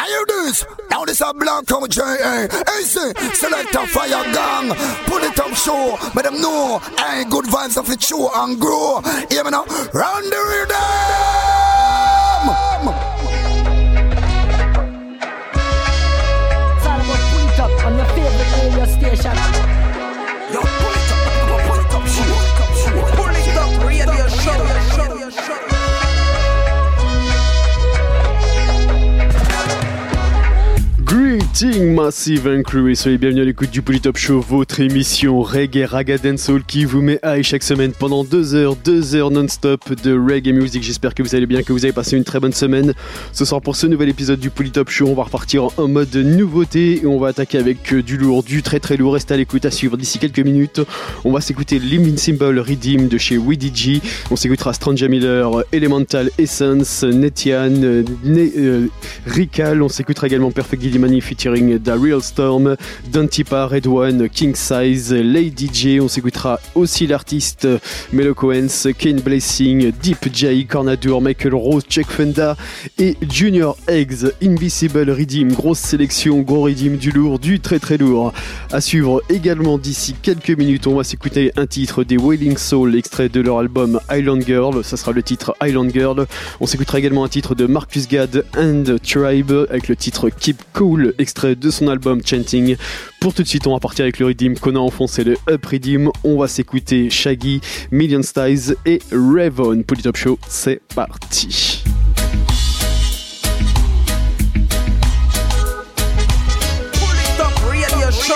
hear this. Now this a black come J.A. Hey, say, select a fire gang. Pull it up, show. Let them know. Hey, good vibes of it show and grow. Hear me now? Run the rhythm. It's all about pull it up on your favorite radio station. Yo, pull it up, pull it up, radio show. Greetings Massive and Crew et soyez bienvenus à l'écoute du Polytop Show, votre émission reggae, raga, dancehall qui vous met high chaque semaine pendant 2 heures non-stop de reggae music. J'espère que vous allez bien, que vous avez passé une très bonne semaine. Ce soir pour ce nouvel épisode du Polytop Show, on va repartir en mode nouveauté et on va attaquer avec du lourd, du très très lourd. Restez à l'écoute, à suivre d'ici quelques minutes. On va s'écouter l'Invincible Redeem de chez WDG. On s'écoutera Stranger Miller, Elemental Essence, Netian, Rikal. On s'écoutera également Perfect Gillimani featuring The Real Storm, Dantipa, Red One, King Size, Lady J. On s'écoutera aussi l'artiste Melo Coens, Kane Blessing, Deep J, Cornadur, Michael Rose, Chuck Fenda et Junior Eggs. Invisible Redeem, grosse sélection, gros Redeem, du lourd, du très très lourd. À suivre également d'ici quelques minutes, on va s'écouter un titre des Wailing Soul, extrait de leur album Island Girl. Ça sera le titre Island Girl. On s'écoutera également un titre de Marcus Gad and Tribe avec le titre Keep Cool, extrait de son album Chanting. Pour tout de suite, on va partir avec le Redeem qu'on a enfoncé, le Up Redeem. On va s'écouter Shaggy, Million Styles et Ravon. Polytop Show, c'est parti. Polytop Radio Show.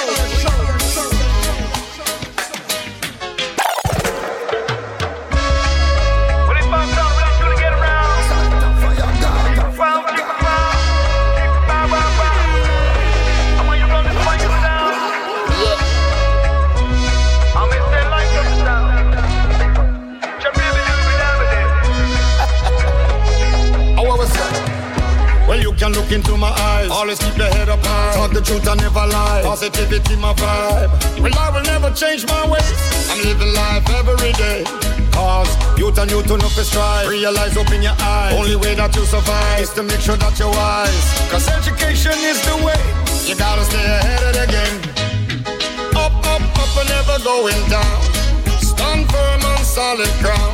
Can look into my eyes, always keep your head up high. Talk the truth, I never lie. Positivity, my vibe. Well, I will never change my ways. I'm living life every day. Cause youth and youth enough to strive. Realize, open your eyes. Only way that you survive is to make sure that you're wise. Cause education is the way. You gotta stay ahead of the game. Up, up, up and never going down. Stand firm on solid ground.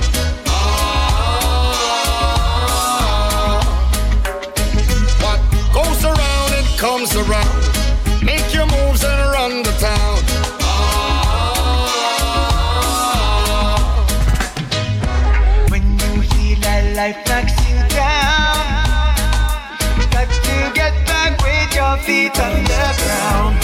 Goes around, it comes around. Make your moves and run the town. When you feel that life knocks you down, got to get back with your feet on the ground.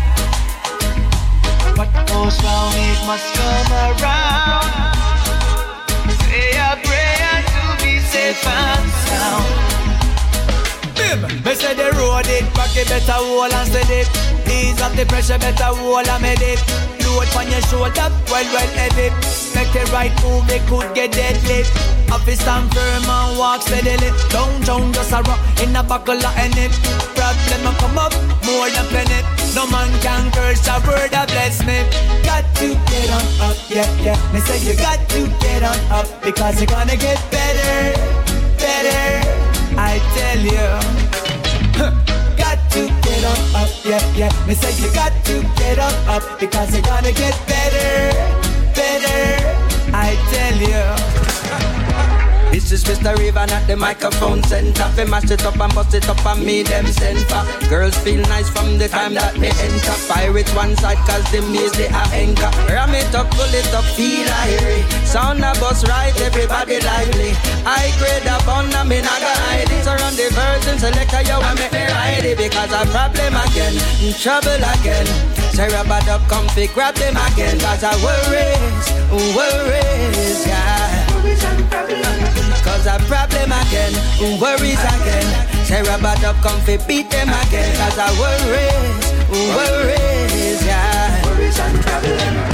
What goes round, it must come around. Say a prayer to be safe and sound. Me say the road it, back it better hold and steady. Ease up the pressure, better hold and med it. Load on your shoulder, well heavy. Make the right move, it could get deadly. Office stand firm and walk steadily. Down, just a rock in a buckle of any. Problem will come up, more than plenty. No man can curse a word that bless me. Got to get on up, yeah. Me say you got to get on up, because you're gonna get better, I tell you. Got to get on up, yeah. Me say you got to get on up, because you're gonna get better, I tell you. This is Mr. Raven at the microphone center. They mash it up and bust it up and me them center. Girls feel nice from the time that they enter. Pirates one side cause the maze they are anchor. Ram it up, pull it up, feel airy. Sound a bus right, everybody lively. I grade a bun, I mean I got hide it. Surround the virgin, selector, you want me to ride it. Because a problem again, in trouble again. Sarah bad up, comfy, grab them again. Cause I worries, yeah. Cause a problem again, worries again. Sarah bad up, comfy, beat them again. Cause I worries, yeah. Worries and problems.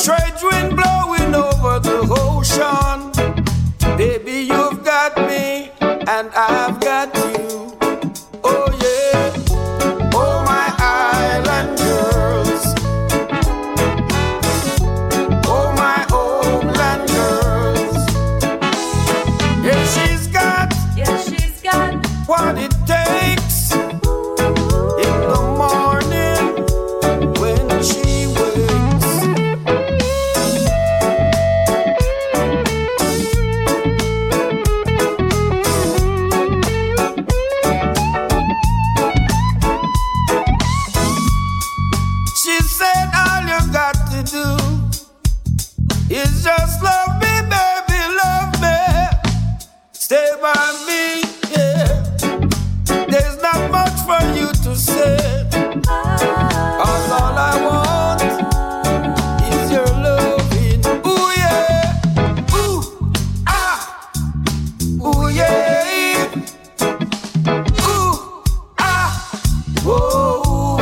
trade wind blowing over the ocean. Baby, you've got me and I've got you. Oh yeah, oh my island girls, oh my homeland girls. Yeah, she's got what it takes in the morning when she wakes. She said all you got to do is just love me, baby, love me. Stay by me, yeah. There's not much for you to say. All I want is your loving. Ooh yeah, ooh ah, ooh yeah, ooh ah, whoa,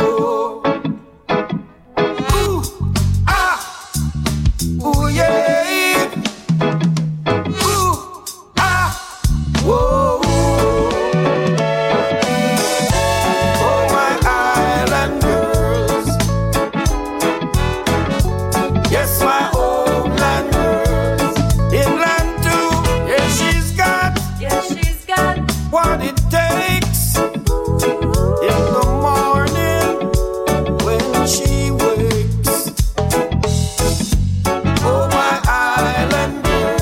ooh ah, ooh yeah, ooh ah, whoa. Oh my island girls, yes my homeland girls, inland too. Yeah, she's got what it takes in the morning when she wakes. Oh my island girls,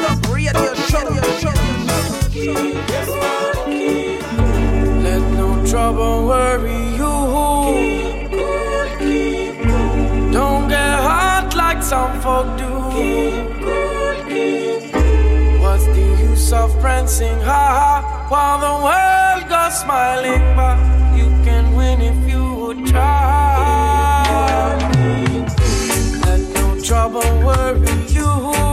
yes my let no trouble worry you. Don't get hot like some folk do. What's the use of prancing high while the world goes smiling by? You can win if you would try. Let no trouble worry you.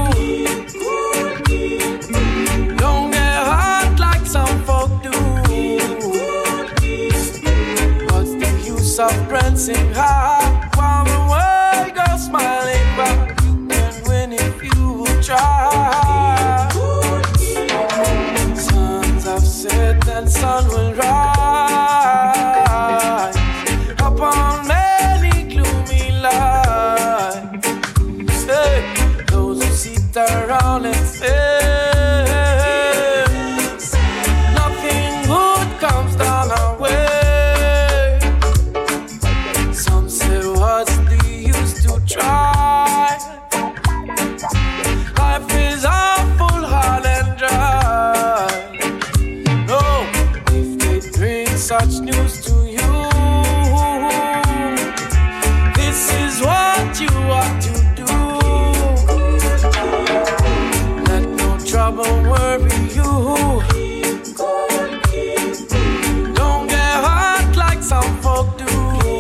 Don't get hot like some folk do. What's the use of prancing high while the world goes smiling by? You can win if you try. Sons have set and sun will rise upon many gloomy lights. Hey, those who sit around and say nothing good comes down our way. Some say what's the use to try? Life is awful hard and dry. No, if they bring such news to you, this is what you ought to do. Let no trouble worry you. Don't get hot like some folk do.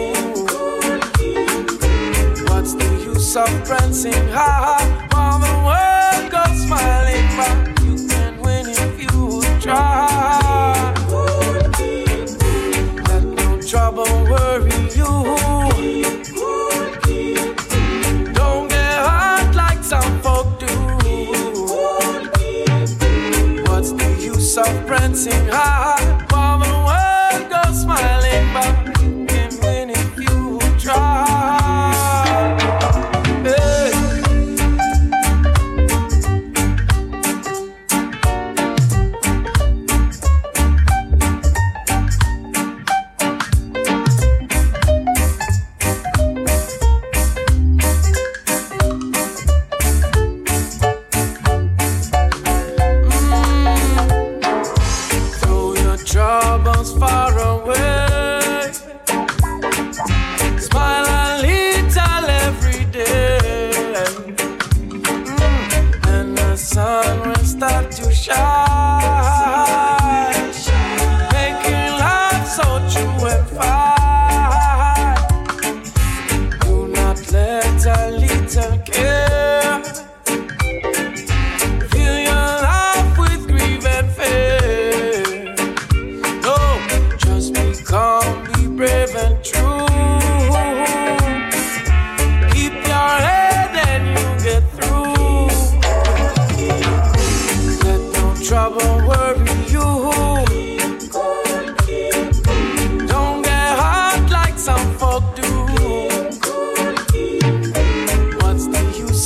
What's the use of prancing high while the world goes smiling by? You can win if you try. Let no trouble worry you. Don't get hot like some folk do. What's the use of prancing high while the world goes smiling by? You can win if you try. Hey. Throw your troubles far away. Smile a little every day. And the sun will start to shine, making life so true and fine. Do not let a little care fill your life with grief and fear. No, just be calm, be brave and true. Keep your head and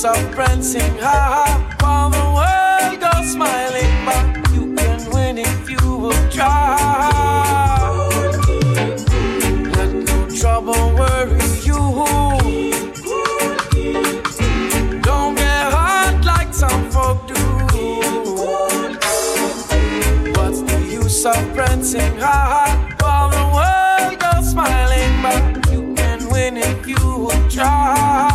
of friends sing ha ha, while the world goes smiling, but you can win if you will try. Let no trouble worry you. Don't get hurt like some folk do. What's the use of friends sing ha ha, while the world goes smiling, but you can win if you will try.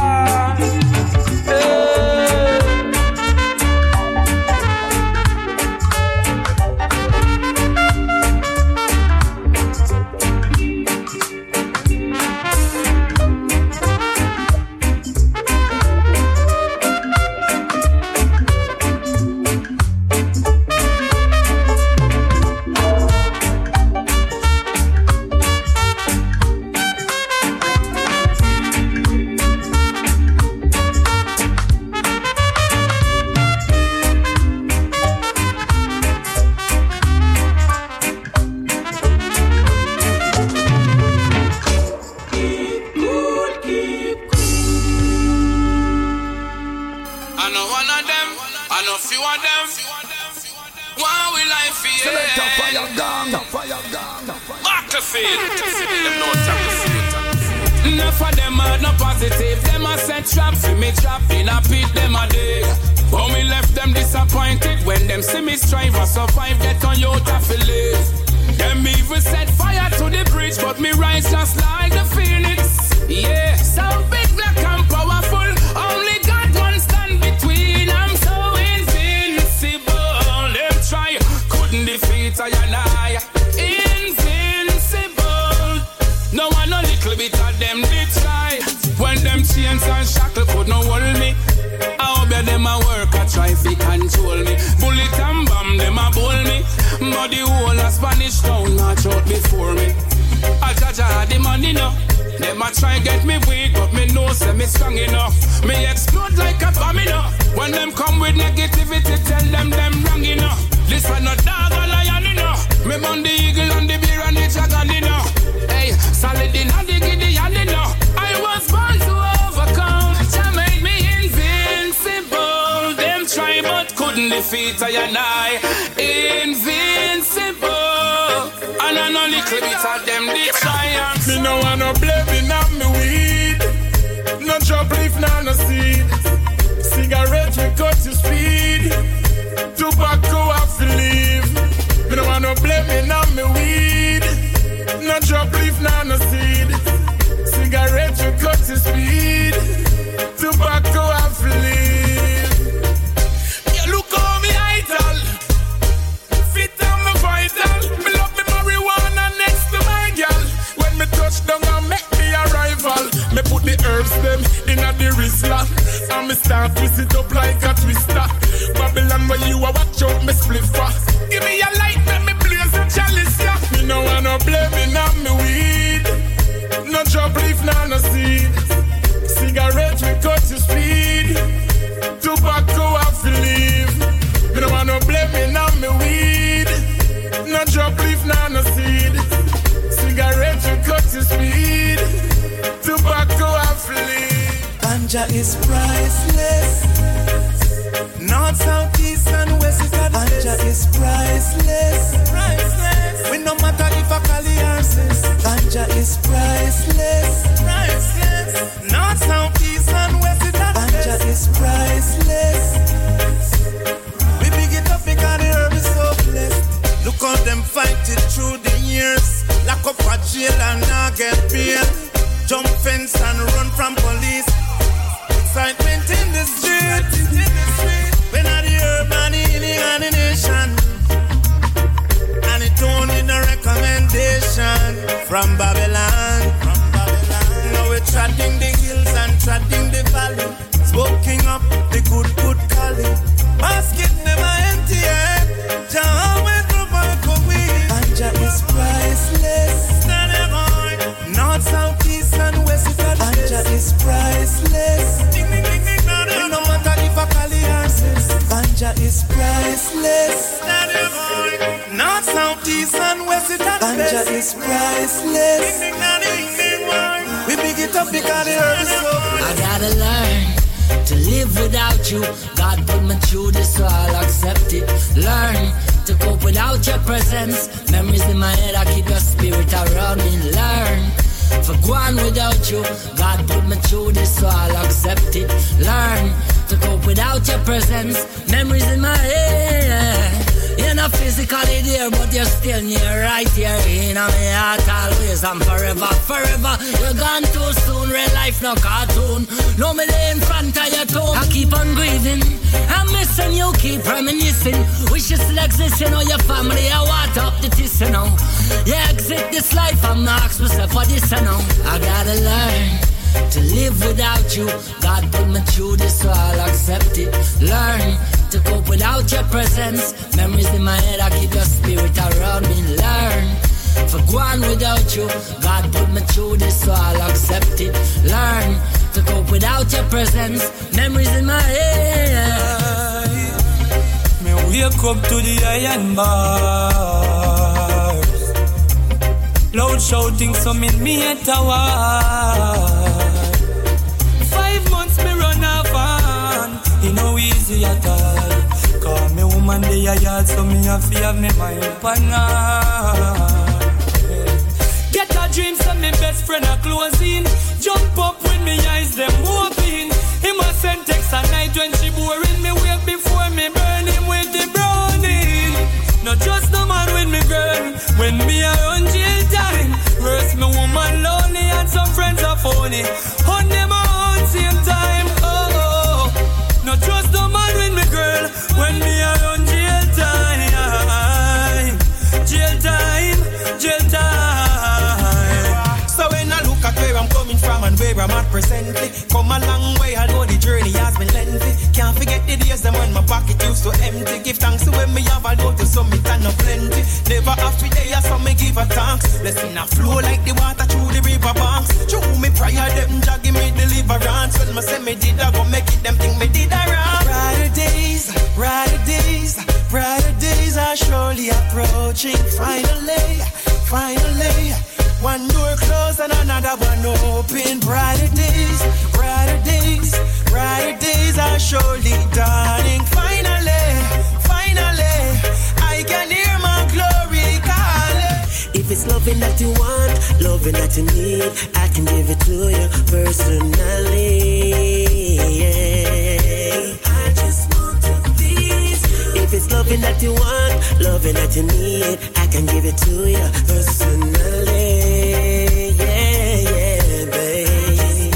Enough of them are not positive. Them a set trap for me, trap in a pit them a dig. But me left them disappointed when them see me strive or survive. Get on your to live. Them even set fire to the bridge, but me rise just like the phoenix. Yeah, so big, black and powerful. Only God one stand between. I'm so invincible. Them try, couldn't defeat I and I. No one a little bit of them did try. When them chains and shackle could not hold me, I hope them a work a try to control me. Bullet and bomb them a bull me, but the whole of Spanish town march out before me. I judge I had the money now. Them a try get me weak, but me know say me strong enough. Me explode like a bomb enough. When them come with negativity, tell them wrong enough. This one no dog or lion enough. Me burn the eagle and the bear and the dragon enough. Hey, solid in the Gideon enough. I was born to overcome. Jah made me invincible. Them try but couldn't defeat I and I. Invincible. And I know little bit of them did try. Me no wanna blame on me weed. No drop leaf, no seed. Cigarette we cut to speed. Tobacco I feel leave. Me no wanna blame on me weed. No drop leaf, no seed. Cigarette we cut to speed. Tobacco I feel leave. Yeah, look how me idol. Fit on me vital. Me love me marijuana next to my girl. When me touch down and make me arrival, me put the herbs them in a the Rizla. And me start twist it up like a twister. Babylon where you a watch out me spliffer. Give me a light, let me blaze a chalice, yeah. Me no wanna blame on me weed. No drop leaf, no seed. Cigarette we cut to speed. Tobacco I feel leave. Me no wanna blame on me weed. No drop leaf, no seed. Cigarette we cut to speed. Tobacco I feel leave. Ganja is priceless. North, south, east and west is at Ganja is priceless. Priceless. We no matter if I call the answers. Ganja is priceless. Priceless. North, south, east and west is at Ganja is priceless. We big it up because the herb is so blessed. Look how them fight it through the years. Lock up a jail and not get bail. Jump fence and run from police. Excitement in the street. When I the herb and the healing and the nation. And it only no recommendation from Babylon. Now we're treading the hills and treading the valley. Smoking up the good calling. Basket never empty, Jah always provide for we. Ganja is priceless. North, south, east and west is at Ganja is priceless. No matter if I call the answers. Ganja is priceless. North, south, east and west is at Ganja is priceless. We pick it up because the herb is so. I gotta learn to live live without you. God put me through this, so I'll accept it. Learn to cope without your presence. Memories in my head, I keep your spirit around me. Learn for going without you. God put me through this, so I'll accept it. Learn to cope without your presence. Memories in my head. You're not physically there, but you're still near, right here in my heart always and forever, forever. You're gone too soon, real life no cartoon. No me lay in front of your tomb. I keep on grieving, I'm missing you, keep reminiscing. Wish you still exist, you know your family, I want up the tiss, you know. Yeah, exit this life, I'm not asking myself for this, you know. I gotta learn to live without you. God put me through this, so I'll accept it. Learn to cope without your presence. Memories in my head, I keep your spirit around me. Learn for going without you. God put me through this, so I'll accept it. Learn to cope without your presence. Memories in my head. Me wake up to the iron bars. Loud shouting, some in me a tower. 5 months me run off on. It no easy at all. Call me woman day a yard, so me have to have me mind pan her. Get a dream, so me best friend a closing. Jump up when me eyes them open. Him a send text at night when she boring. Me wake before me burn him with the browning. Not just no man with me girl. When me a run jail time. Worse me woman lonely and some friends are phony. On them on same time. No trust no man with me girl. When me around jail time. Jail time, jail time. So when I look at where I'm coming from and where I'm at presently, come a long way, although the journey has been lengthy. Can't forget the days them when my pocket used to empty. Give thanks to when me have a load to summit and no plenty. Never after day, so me give a thanks. Blessing a flow like the water through the river banks. Through me prayer, them jogging me deliverance. When me say me did, I go make it, them think me did a wrong. Brighter days, brighter days, brighter days are surely approaching. Finally, finally, one door closed and another one open. Brighter days, brighter days, brighter days are surely dawning. Finally, finally, I can hear my glory calling. If it's loving that you want, loving that you need, I can give it to you personally. I just want to please you. If it's loving that you want, loving that you need, I can give it to you personally. Yeah, yeah, baby.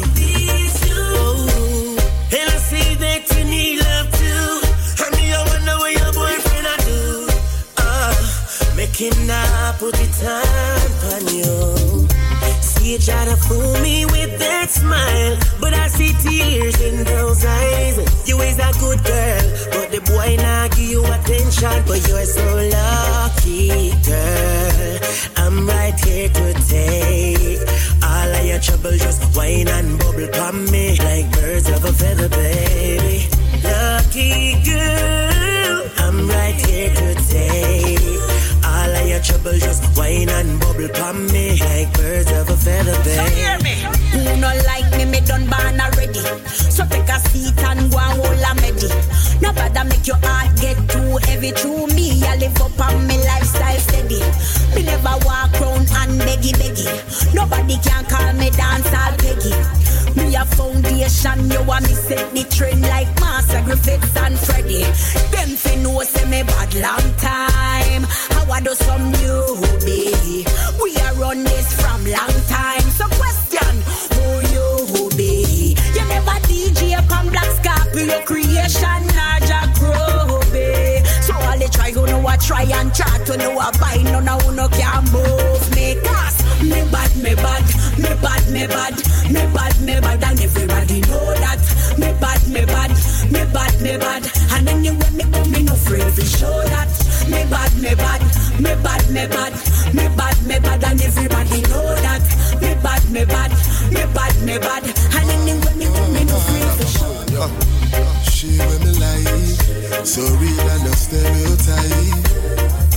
Oh, and I see that you need love too. And me, I wonder what your boyfriend I do. Making up put the time on you. See you try to fool me with that smile, but I see tears in those eyes. You is a good girl, but the boy not give you attention. But you're so lucky, girl. I'm right here to take all of your trouble. Just whine and bubble pon me like birds of a feather, baby. Lucky girl, I'm right here to take all of your trouble. Just whine and bubble pon me like birds of a feather, baby. So hear me. Who no like me done born already. So take a seat and go and hold a medi. Nobody make your heart get too heavy. Through me, I live up on me lifestyle steady. Me never walk round and beggy. Nobody can call me dance all peggy. Me a foundation, you want me set the trend like Master Griffiths and Freddy. Them fi know say me bad long time. How I do some newbie. We a run this from long time. So question, who you be? You never DJ upon Black Scorpio creation, Naja Grobe. So all they try, who know I try and chat, who know I buy, none of who no can move me. Cause me bad, me bad, me bad, me bad, me bad, me bad, and everybody know that. Me bad, me bad, me bad, me bad, and anyway me come, me no afraid to show that. Me bad, me bad, me bad, me bad, me bad, me bad, and everybody know that. Me bad, me bad, me bad, me bad, and anyway me come, me no afraid to show that. She with me like, so real and no stereotype.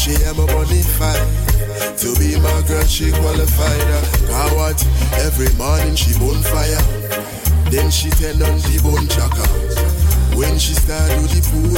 She am a bonafide. To be my girl, she qualified. Cause what? Every morning she bonfire. Then she turn on the bone chaka. When she start do the pool,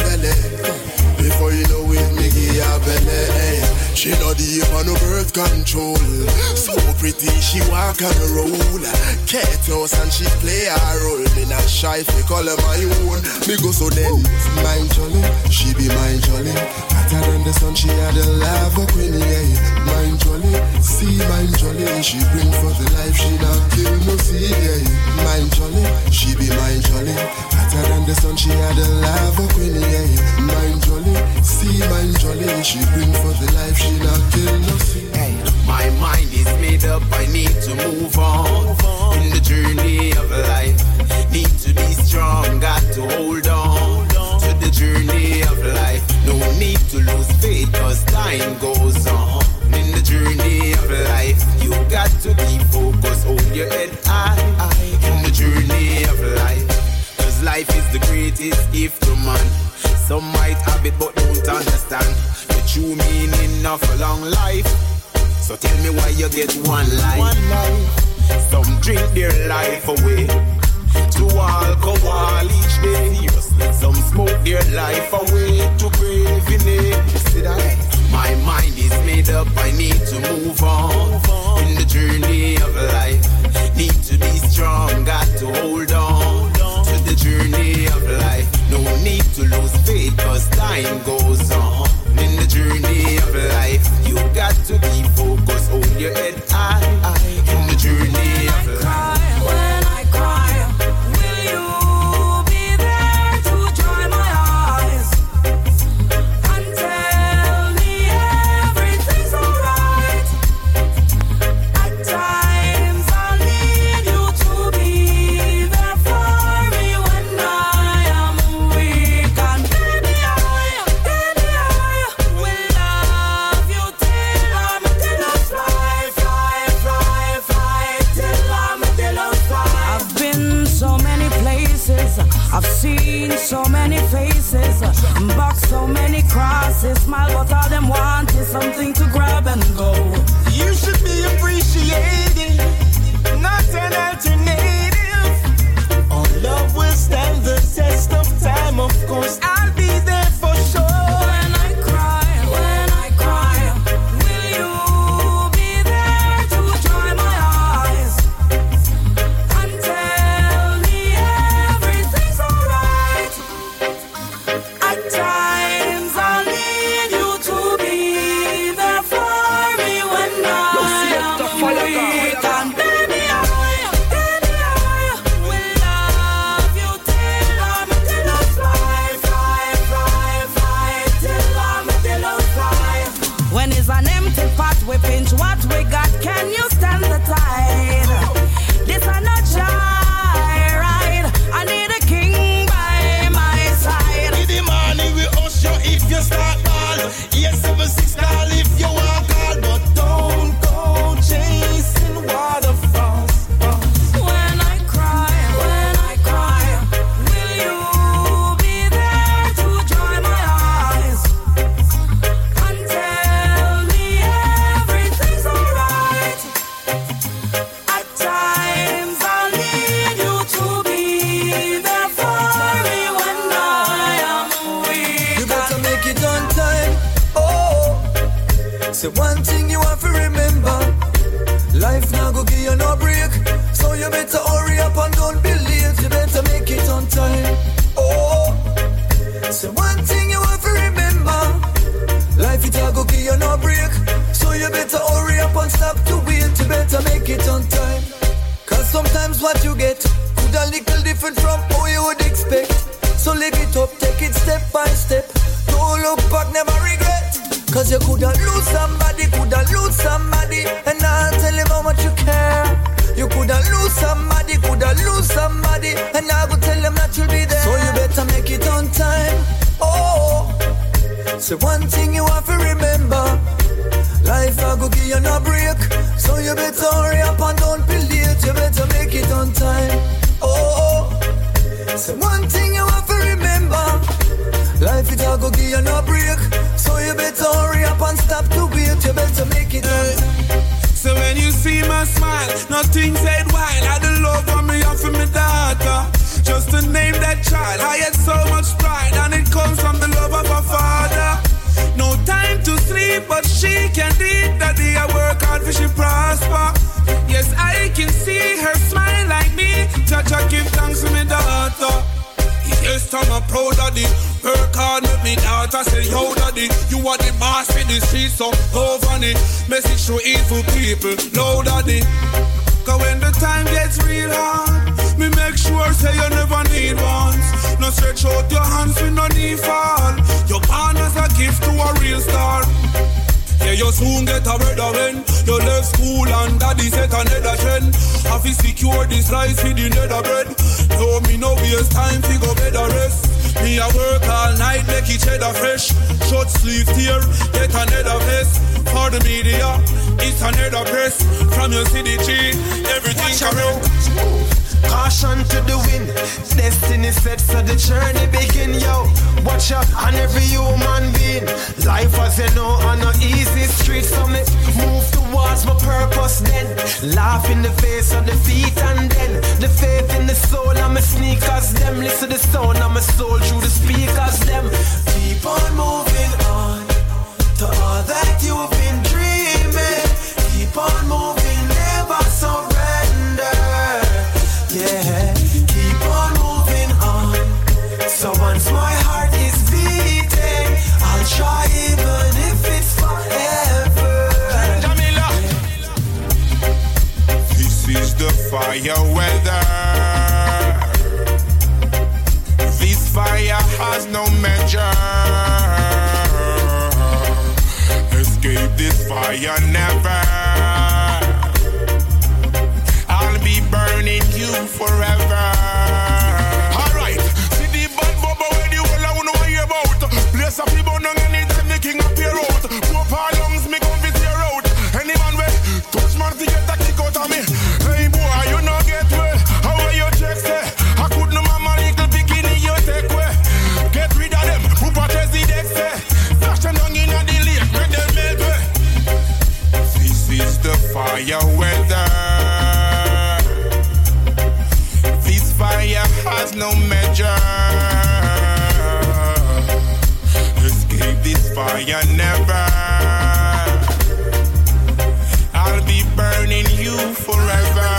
before you know it, me give her belly. She not deep on no birth control. So pretty, she walk and roll. Cat house and she play her role. Me not shy, fi call her my own. Me go so then, mine jolly, she be mine jolly. Hotter than the sun, she had a lava queen, yeah. Mine jolly, see mine jolly. She bring for the life, she not kill no seed, yeah. Mine jolly, she be mine jolly. Hotter than the sun, she had a lava queen, yeah. Mine jolly, see mine jolly. She bring for the life, she not kill no seed. My mind is made up, I need to move on in the journey of life. Need to be strong, got to hold on to the journey of life. No need to lose faith, cause time goes on. In the journey of life, you got to keep focused, hold your head high. In the journey of life, cause life is the greatest gift to man. Some might have it but don't understand the true meaning of a long life. So tell me why you get one life. Some drink their life away to alcohol each day. Some smoke their life away to craving it. See that? My mind is made up, I need to move on in the journey of life. Need to be strong, got to hold on to the journey of life. No need to lose faith, cause time goes on. In the journey of life, you got to keep focused, hold your head high. In the journey of life. When I cry, will you be there to dry my eyes and tell me everything's alright? At times I need you to be there for me when I am weak. And baby, I will love you till I'm fly, fly, fly, fly, till I'm fly. I've been so many places, I've seen so many faces, boxed so many crosses, smile, but all them want is something to grab and go. You should be appreciated, not an alternative. Our love will stand the test of time, of course. I'll be there for sure. When I cry, will you be there to dry my eyes and tell me everything's alright? At times I need you to be there for me when I am weak. And baby, I will love you till I'm fly, fly, fly, fly, till I'm fly. When it's an empty pot, we pinch what we got. Can you stand the tide? This is not joyride. I need a king by my side. In the morning we usher if you start ball. Yes, 7-6 call if you want call, but don't go chasing waterfalls. When I cry, will you be there to dry my eyes and tell me everything's alright? At times I need you to be there for me when I am weak. You better make it on time. Oh, say one thing you have to remember. Life now go give you no break. So you better hurry up and don't be late. You better make it on time. Oh, say one thing you have to remember. Life it all go give you no break. So you better hurry up and stop to wait. You better make it on time. Cause sometimes what you get could a little different from how you would expect. So live it up, take it step by step. Don't look back, never regret. Cause you coulda lose somebody, and I'll tell him how much you care. You coulda lose somebody, and I will tell him that you'll be there. So you better make it on time. Oh, say one thing you have to remember. Life I go give you no break. So you better hurry up and don't be late. You better make it on time. Oh, say one thing you have to remember. Life it all go give you no break. So you better hurry up and stop to wait. You better make it So when you see my smile, nothing said while I the love for me and for my daughter. Just to name that child, I had so much pride, and it comes from the love of a father. No time to sleep, but she can eat. Daddy, I work hard for she prosper. Yes, I can see her smile like me. Judge, I give thanks to my daughter. Yes, I'm a proud daddy. Work hard with me daughter. Say, yo daddy, you are the boss in the street, so oh funny. Message to evil people, no daddy. Cause when the time gets real hard, me make sure say you never need ones. No stretch out your hands with no need fall. Your born as a gift to a real star. Yeah, you soon get a brother when you left school and daddy set another trend. Have to secure this rice with the nether bread. No, me no waste time to go bed or rest. Me a work all night, make each other fresh. Short sleeve tear, get another vest. For the media, it's another press. From your CDG, everything correct. Caution to the wind, destiny set so the journey begin, yo. Watch out on every human being. Life as you know on no easy street, so me move towards my purpose then. Laugh in the face of defeat and then the faith in the soul of my sneakers, them. Listen to the sound of my soul through the speakers, them. Keep on moving on to all that you've been dreaming. Keep on moving, never surrender. Yeah, keep on moving on. So once my heart is beating, I'll try even if it's forever. Jamila, this is the fire weather. This fire has no measure. Escape this fire never. I'll be burning you forever. Alright, see the bad bubble where the whole I wanna hear about. Place of people don't anytime the king appear out. Poor our lungs, me come with your out. Any man way, touch man to get that kick out of me. Hey boy, you not get well. How are your checks say? I could no mama little bikini you take way. Get rid of them, who protest the deck say. Flash them down in the lake, make them melt way. This is the fire weather. Fire has no measure. Escape this fire never. I'll be burning you forever.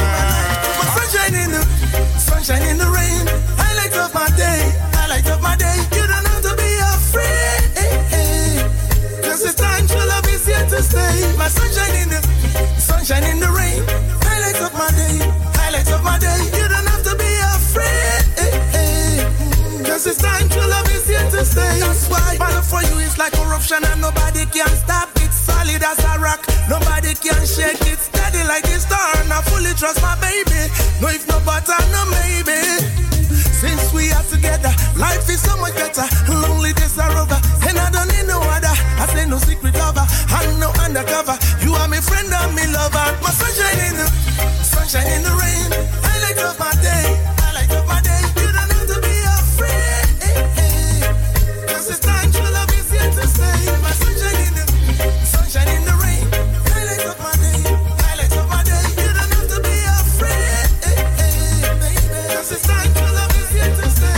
Sunshine in the rain. Highlights of my day. Highlights of my day. You don't have to be afraid. Cause it's time to love is here to stay. My sunshine in the rain. Highlights of my day. Highlights of my day. You don't have to be afraid. Cause it's time to love is here to stay. That's why battle for you is like corruption and nobody can stop it. Solid as a rock. Nobody can shake it. Steady like this star. And I fully trust my baby. No if no but I no maybe. Since we are together, life is so much better. Lonely days are over, and I don't need no other. I say no secret lover, I'm no undercover. You are my friend and me lover. My sunshine in the rain. Highlight of my day, highlight of my day. You don't have to be afraid. Cause it's time to love is here to stay. My sunshine in the rain. Highlight of my day, highlight of my day. You don't have to be afraid. Cause it's time to love is here to stay.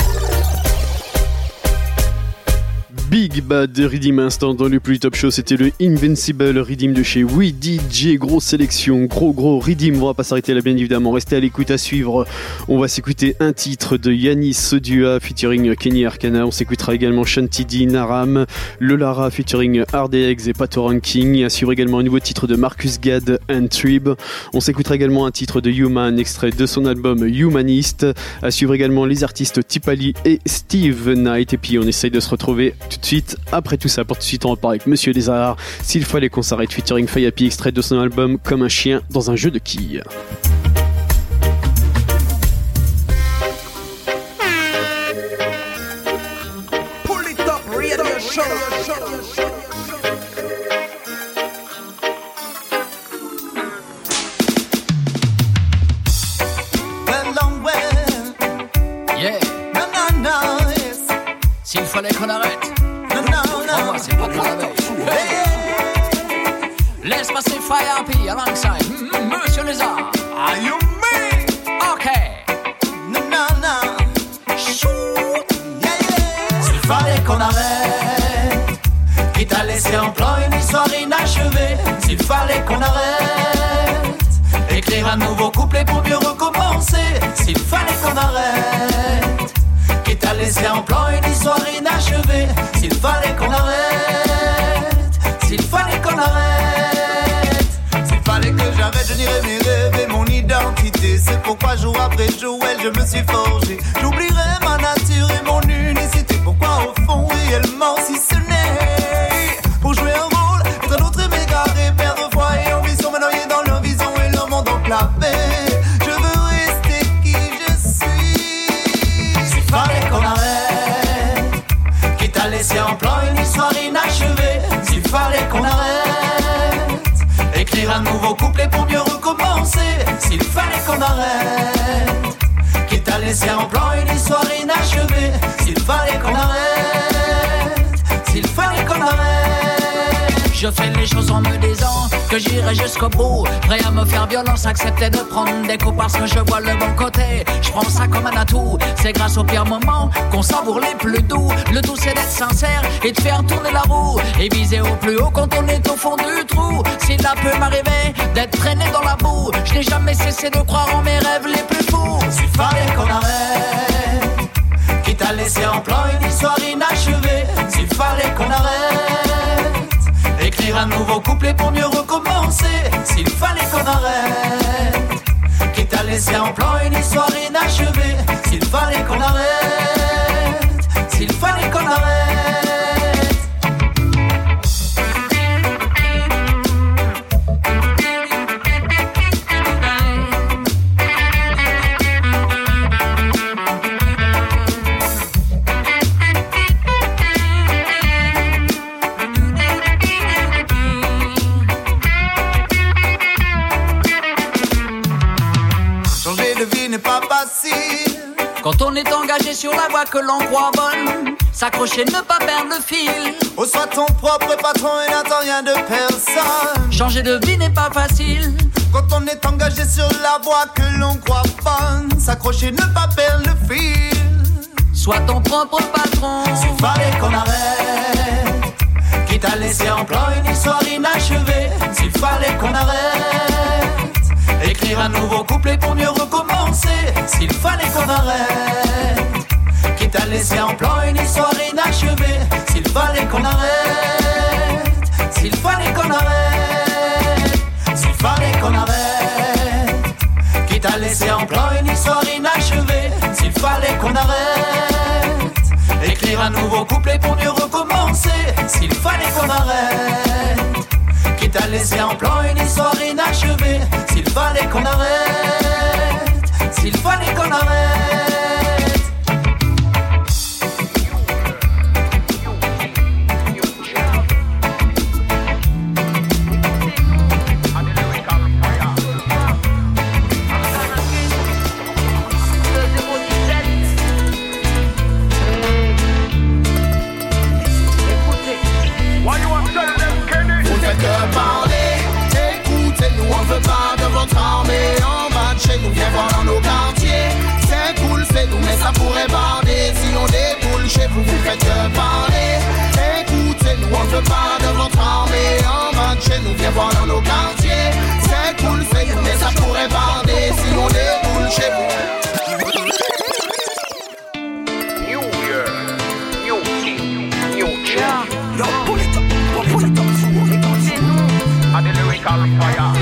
Big Bad Rhythm Instant dans le plus top show, c'était le Invincible Rhythm de chez We DJ. Grosse sélection, gros Rhythm. On va pas s'arrêter là bien évidemment, restez à l'écoute. À suivre, on va s'écouter un titre de Yanis Sodua featuring Kenny Arcana. On s'écoutera également Shanti D, Naram, Lolara featuring RDX et Pato Ranking. À suivre également un nouveau titre de Marcus Gad and Trib. On s'écoutera également un titre de Human, extrait de son album Humanist. À suivre également les artistes Tipali et Steve Knight. Et puis on essaye de se retrouver tout de suite après tout ça. Pour tout de suite on repart avec Monsieur Desarts, S'il fallait qu'on s'arrête featuring Fayapi, extrait de son album Comme un chien dans un jeu de quilles. Pull it up, radio show. Yeah. No, yes. S'il fallait qu'on arrête. No. massive fire P alongside Monsieur Lézard. Are you me? Okay. Shoot, yeah. S'il fallait qu'on arrête, quitte à laisser en plan une histoire inachevée. S'il fallait qu'on arrête, écrire un nouveau couplet pour mieux recommencer. S'il fallait qu'on arrête, quitte à laisser en plan une histoire inachevée. S'il fallait qu'on arrête, s'il fallait qu'on arrête, s'il fallait que j'arrête, je nierais mes rêves et mon identité. C'est pourquoi jour après jour, je me suis forgé. J'oublierai ma nature et mon unicité. Pourquoi au fond, réellement, si ce n'est pour jouer un rôle, être un autre m'égarer, perdre foi et ambition, me noyer dans leur vision et leur monde enclavé. Je veux rester qui je suis. S'il fallait qu'on arrête, quitte à laisser en plan une histoire inachevée. S'il fallait qu'on arrête, écrire un nouveau couplet pour mieux recommencer. S'il fallait qu'on arrête, quitte à laisser en plan une histoire inachevée. S'il fallait qu'on arrête, s'il fallait qu'on arrête. Je fais les choses en me disant que j'irai jusqu'au bout, prêt à me faire violence, accepter de prendre des coups parce que je vois le bon côté. Je prends ça comme un atout, c'est grâce aux pires moments qu'on savoure les plus doux. Le tout c'est d'être sincère et de faire tourner la roue et viser au plus haut quand on est au fond du trou. S'il peut m'arriver d'être traîné dans la boue, je n'ai jamais cessé de croire en mes rêves les plus fous. S'il fallait qu'on arrête, quitte à laisser en plan une histoire inachevée. S'il fallait qu'on arrête, écrire un nouveau couplet pour mieux recommencer. S'il fallait qu'on arrête, quitte à laisser en plan une histoire inachevée. S'il fallait qu'on arrête, s'il fallait qu'on arrête. Quand on est engagé sur la voie que l'on croit bonne, s'accrocher, ne pas perdre le fil. Oh, sois ton propre patron et n'attends rien de personne. Changer de vie n'est pas facile. Quand on est engagé sur la voie que l'on croit bonne, s'accrocher, ne pas perdre le fil. Sois ton propre patron. S'il fallait qu'on arrête, quitte à laisser en plan une histoire inachevée. S'il fallait qu'on arrête, écrire un nouveau couplet pour mieux recommencer. S'il fallait qu'on arrête, quitte à laisser en plan une histoire inachevée. S'il fallait qu'on arrête, s'il fallait qu'on arrête, s'il fallait qu'on arrête, quitte à laisser en plan une histoire inachevée. S'il fallait qu'on arrête, écrire un nouveau couplet pour mieux recommencer. S'il fallait qu'on arrête, quitte à laisser en plan une histoire inachevée. S'il fallait qu'on arrête, s'il fallait qu'on arrête. Ça pourrait bander si on déboule chez vous, vous faites que parler. Écoutez-nous, on ne veut pas de votre armée. En bas de chez nous, viens voir dans nos quartiers. C'est cool, c'est nous, mais ça pourrait bander si on déboule chez vous. New Year, new team, new chair. Yo, pull it up, pull it up. And the lyrical fire.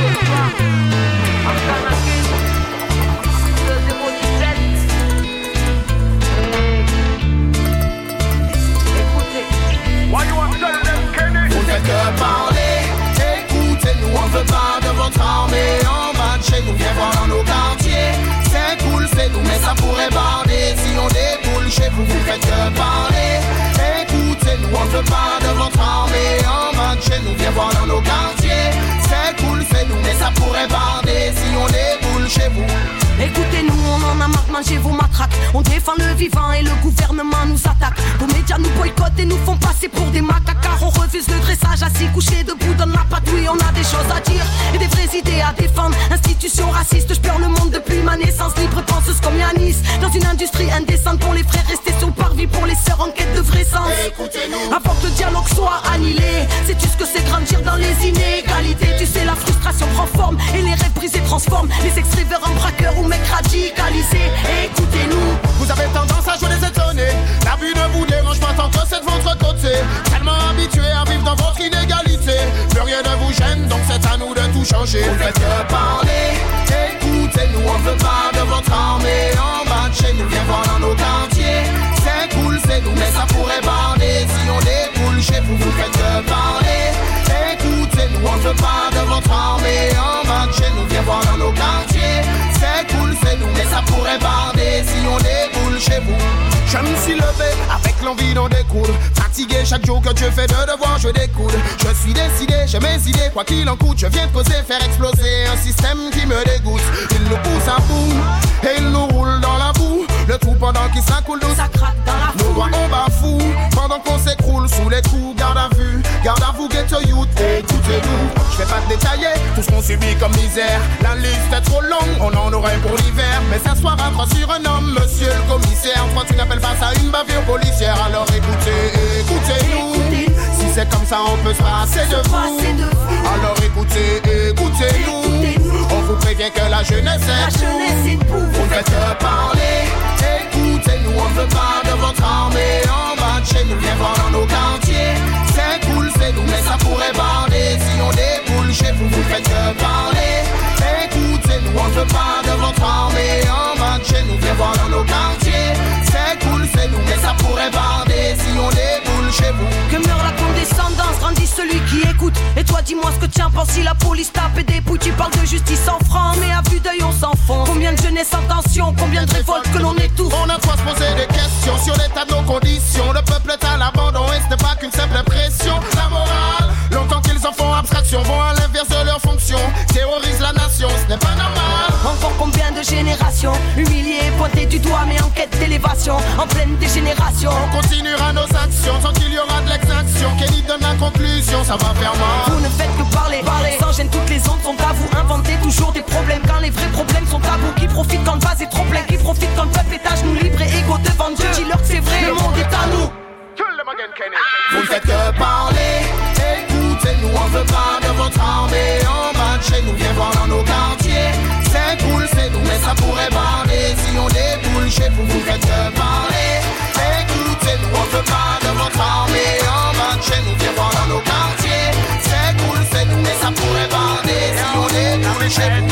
Vous faites que parler, écoutez-nous, on veut pas de votre armée. En bas de chez nous, viens voir dans nos quartiers. C'est cool, c'est nous, mais ça pourrait bander si on déboule chez vous, vous faites que parler. Écoutez-nous, on veut pas de votre armée. En bas de chez nous, viens voir dans nos quartiers. C'est cool, c'est nous, mais ça pourrait bander si on déboule chez vous. Écoutez-nous, on en a marre de manger vos matraques. On défend le vivant et le gouvernement nous attaque. Vos médias nous boycottent et nous font passer pour des macaques. Car on refuse le dressage, assis couché debout, donne la patrouille aujourd'hui on a des choses à dire et des vraies idées à défendre. Institution raciste, je pleure le monde depuis ma naissance. Libre penseuse comme Yanis, dans une industrie indécente. Pour les frères restés sur le parvis, pour les sœurs en quête de vrai sens. Avant que le dialogue soit annihilé, sais-tu ce que c'est grandir dans les inégalités? Tu sais la frustration prend forme et les rêves brisés transforment les ex-rêveurs en braqueurs ou mecs radicalisés. Écoutez-nous. Vous avez tendance à jouer les étonnés. La vue ne vous dérange pas tant que c'est de votre côté. Tellement habitué à vivre dans votre inégalité. Plus rien ne vous gêne, donc c'est à nous de tout changer. Vous faites que parler, écoutez-nous, on veut pas de votre armée. En bas de chez nous, viens voir dans nos quartiers. C'est cool, c'est nous, mais ça pourrait bander. Si on déboule chez vous, vous faites que parler. Écoutez-nous, on veut pas de votre armée. En bas de chez nous, viens voir dans nos quartiers. C'est cool, c'est nous, mais ça pourrait bander. Si on déboule chez vous. Je me suis levé avec l'envie d'en découdre. Fatigué chaque jour que Dieu fait de devoir, je découde. Je suis décidé, j'ai mes idées, quoi qu'il en coûte. Je viens de poser, faire exploser un système qui me dégoûte. Il nous pousse à bout et il nous roule dans la boue. Le tout pendant qu'il s'accoule douce. Ça craque dans la foule. Nos doigts on bafoue pendant qu'on s'écroule sous les coups. Garde à vous, get to youth. Écoutez-nous, je vais pas détailler tout ce qu'on subit comme misère. La liste est trop longue, on en aurait pour l'hiver. Mais s'asseoir à croix sur un homme, monsieur le commissaire. Toi tu n'appelles pas ça une bavure policière. Alors écoutez-nous. Si c'est comme ça on peut se passer de vous. Alors écoutez-nous. On vous prévient que la jeunesse est pour vous. Vous faites que parler. Écoutez-nous, on veut pas de votre armée. En bas de chez nous, viens voir dans nos quartiers. C'est cool, c'est nous, mais ça pourrait bander. Si on déboule chez vous, vous faites que parler. Écoutez-nous, on veut pas de votre armée. En bas de chez nous, viens voir dans nos quartiers. C'est cool, c'est nous, mais ça pourrait bander. Si on déboule chez vous. Que meurt la condescendance, grandit celui qui écoute. Et toi dis-moi ce que tu en penses si la police tape et dépouille. Tu parles de justice en franc, mais à vue d'œil on s'enfonce. Combien de jeunesse en tension, combien de révoltes que l'on étouffe. On a quoi se poser des questions sur l'état de nos conditions. Le peuple est à l'abandon et ce n'est pas qu'une simple impression. La morale, longtemps qu'ils en font abstraction, vont à l'inverse de leur fonction. Terrorisent la nation, ce n'est pas normal. Encore combien de générations humiliées, pointées du doigt mais en quête d'élévation. En pleine dégénération. On continuera nos actions tant qu'il y aura de l'exaction. Kelly donne la conclusion, ça va faire mal. Vous ne faites que parler. Sans gêne, toutes les ondes sont à vous. Inventez toujours des problèmes quand les vrais problèmes sont à vous. Qui profite quand le vase est trop plein, qui profite quand le peuple est à genoux, libre et égaux devant Dieu. Dis-leur que c'est vrai, le monde est à nous. Vous ne faites que parler. Écoutez-nous, on veut pas de votre armée. En bas de chez nous, viens voir dans nos quartiers. C'est cool, c'est nous, mais ça pourrait bander. Si on déboule chez vous, vous faites que parler. Écoutez-nous, on veut pas de votre armée. En bas de chez nous, viens voir dans nos quartiers. C'est cool, c'est nous, mais ça pourrait bander. Si on déboule chez vous.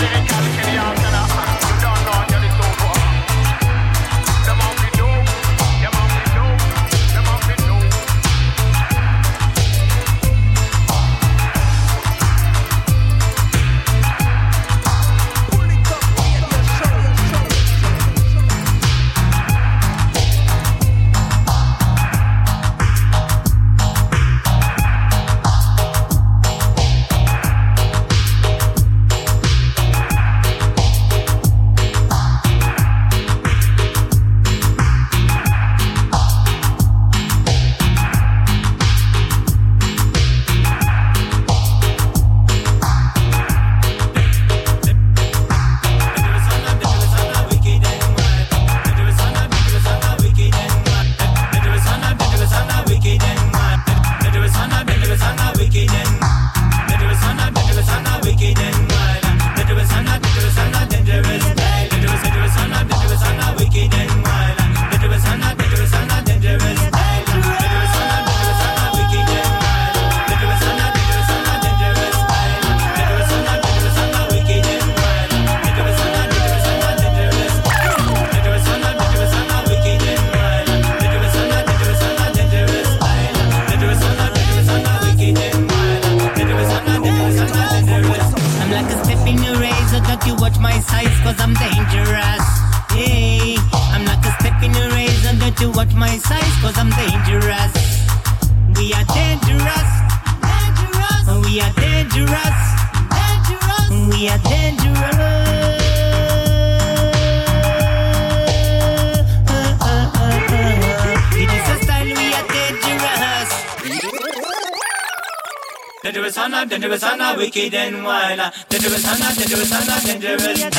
dangerous and a wicked and wild. Dangerous and a dangerous style. Dangerous and a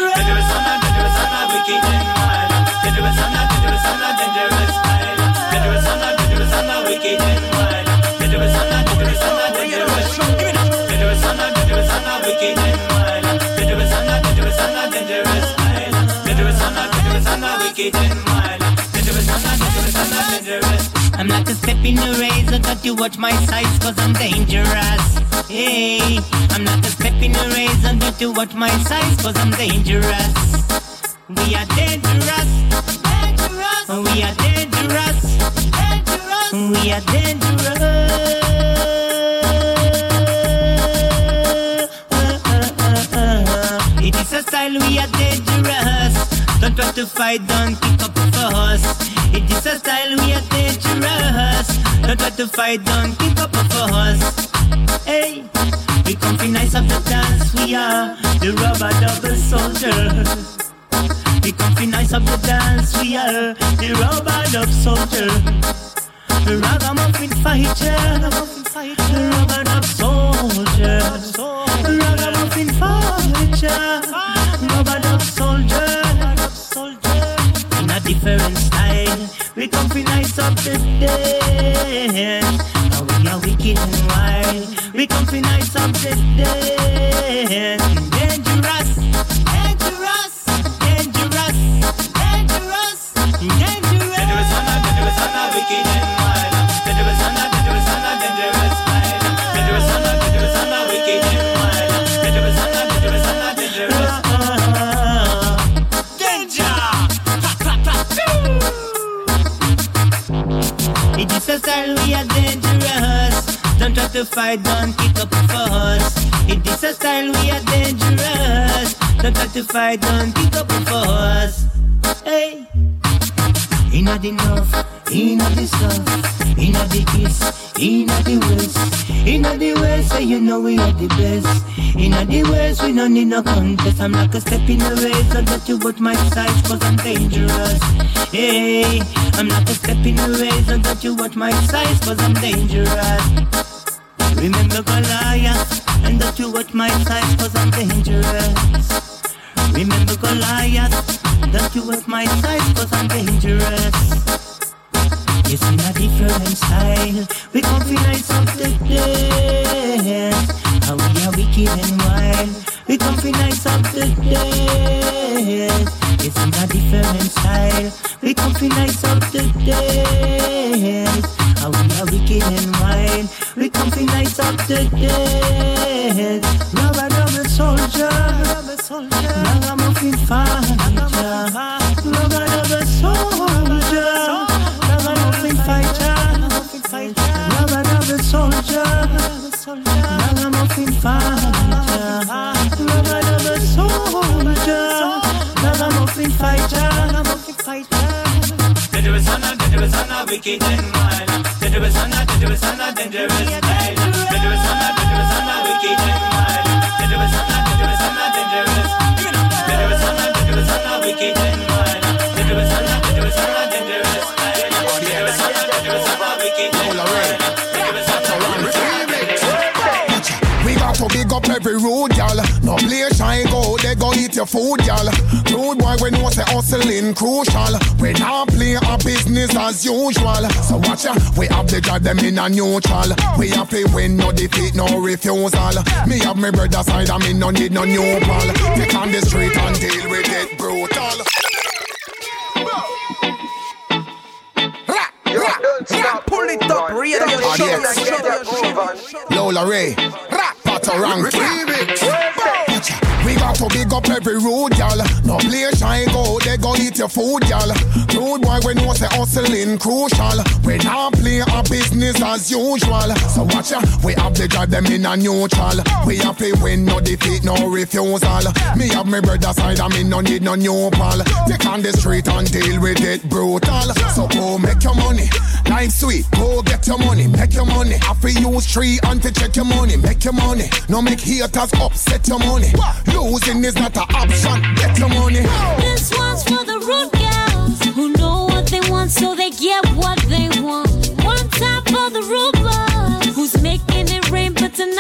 wicked and wild. Dangerous and a dangerous style. Dangerous and a wicked and wild. Dangerous and a dangerous and a dangerous. Dangerous and a dangerous and a wicked and wild. Dangerous and a dangerous and a dangerous style. Dangerous and a dangerous and a wicked and wild. Dangerous and a dangerous and a dangerous. I'm like a step in the razor, got you watch my size, cause I'm dangerous. Hey, I'm like a step in the razor, got you watch my size, cause I'm dangerous. We are dangerous. Dangerous. We are dangerous. Dangerous. We are dangerous. It is a style, we are dangerous. Don't try to fight, don't kick up for us. It is a style, we are dangerous. Don't try to fight, don't kick up for us. Hey, we come fi nice of the dance, we are the rubber double soldier. We come fi nice of the dance, we are the rubber double soldier. The ragamuffin fighter, the rubber double soldier. The ragamuffin fighter, rubber double soldier. In a different style, we come fi nice up the dance. Now we are wicked and wild. We come fi nice up the dance. Dangerous, dangerous, dangerous, dangerous, dangerous. Dangerous and a wicked and wild. Dangerous and a dangerous and a dangerous style. Dangerous and a dangerous and a wicked and wild. Dangerous and a dangerous and a dangerous. It is a style, we are dangerous. Don't try to fight, don't kick up for us. It is a style, we are dangerous. Don't try to fight, don't kick up for us. Hey, inna the north, inna the south, inna the east, inna the west. Inna the west, say you know we are the best. Inna the west, we don't need no contest. I'm like a step in the race, so that you watch my size, cause I'm dangerous. Hey, I'm like a step in the race, so that you watch my size, cause I'm dangerous. Remember Goliath, and that you watch my size, cause I'm dangerous. Remember Goliath, that you watch my size, cause I'm dangerous. It's in a different style, we come fi nice up the dance. How we are wicked and wild, we come fi nice up the dance. It's in a different style, we come fi nice up the dance. How we are wicked and wild, we come fi nice up the dance. Rubber double soldier, ragamuffin fighter, rubber double soldier, ragamuffin fighter, rubber double soldier, ragamuffin fighter, rubber double soldier, ragamuffin fighter. Dangerous and a wicked and wild. Dangerous and a dangerous style. Dangerous and a dangerous and a wicked and wild. Dangerous and a dangerous and a dangerous. Dangerous and a dangerous and a wicked and wild. Dangerous and a dangerous and a dangerous style. Dangerous and a dangerous and a wicked and wild. We got to big up every road, y'all. No place I go, they go eat your food, y'all. Road boy, we know say hustling crucial. We not play our business as usual. So watch ya, we have the drive them in a neutral. We have to win, no defeat, no refusal. Me have my brother side, I me no need no new pal. Take on the street and deal with it brutal. Pull it up, radio show. Lola Ray, rap, Patarang. We got to big up every road, y'all. No place I go, they go eat your food, y'all. Road boy, we know say hustling crucial. We not play our business as usual. So watch ya, we have the drive them in a neutral. We have to win, no defeat, no refusal. Me have my brother side, I me no need no new pal. Take on the street and deal with it brutal. So go make your money, life sweet. Go get your money, make your money. Have to use tree and to check your money, make your money. No make haters upset your money. Losing is not an option. Get your money. This one's for the rude girls who know what they want, so they get what they want. One time for the rude boys who's making it rain, but tonight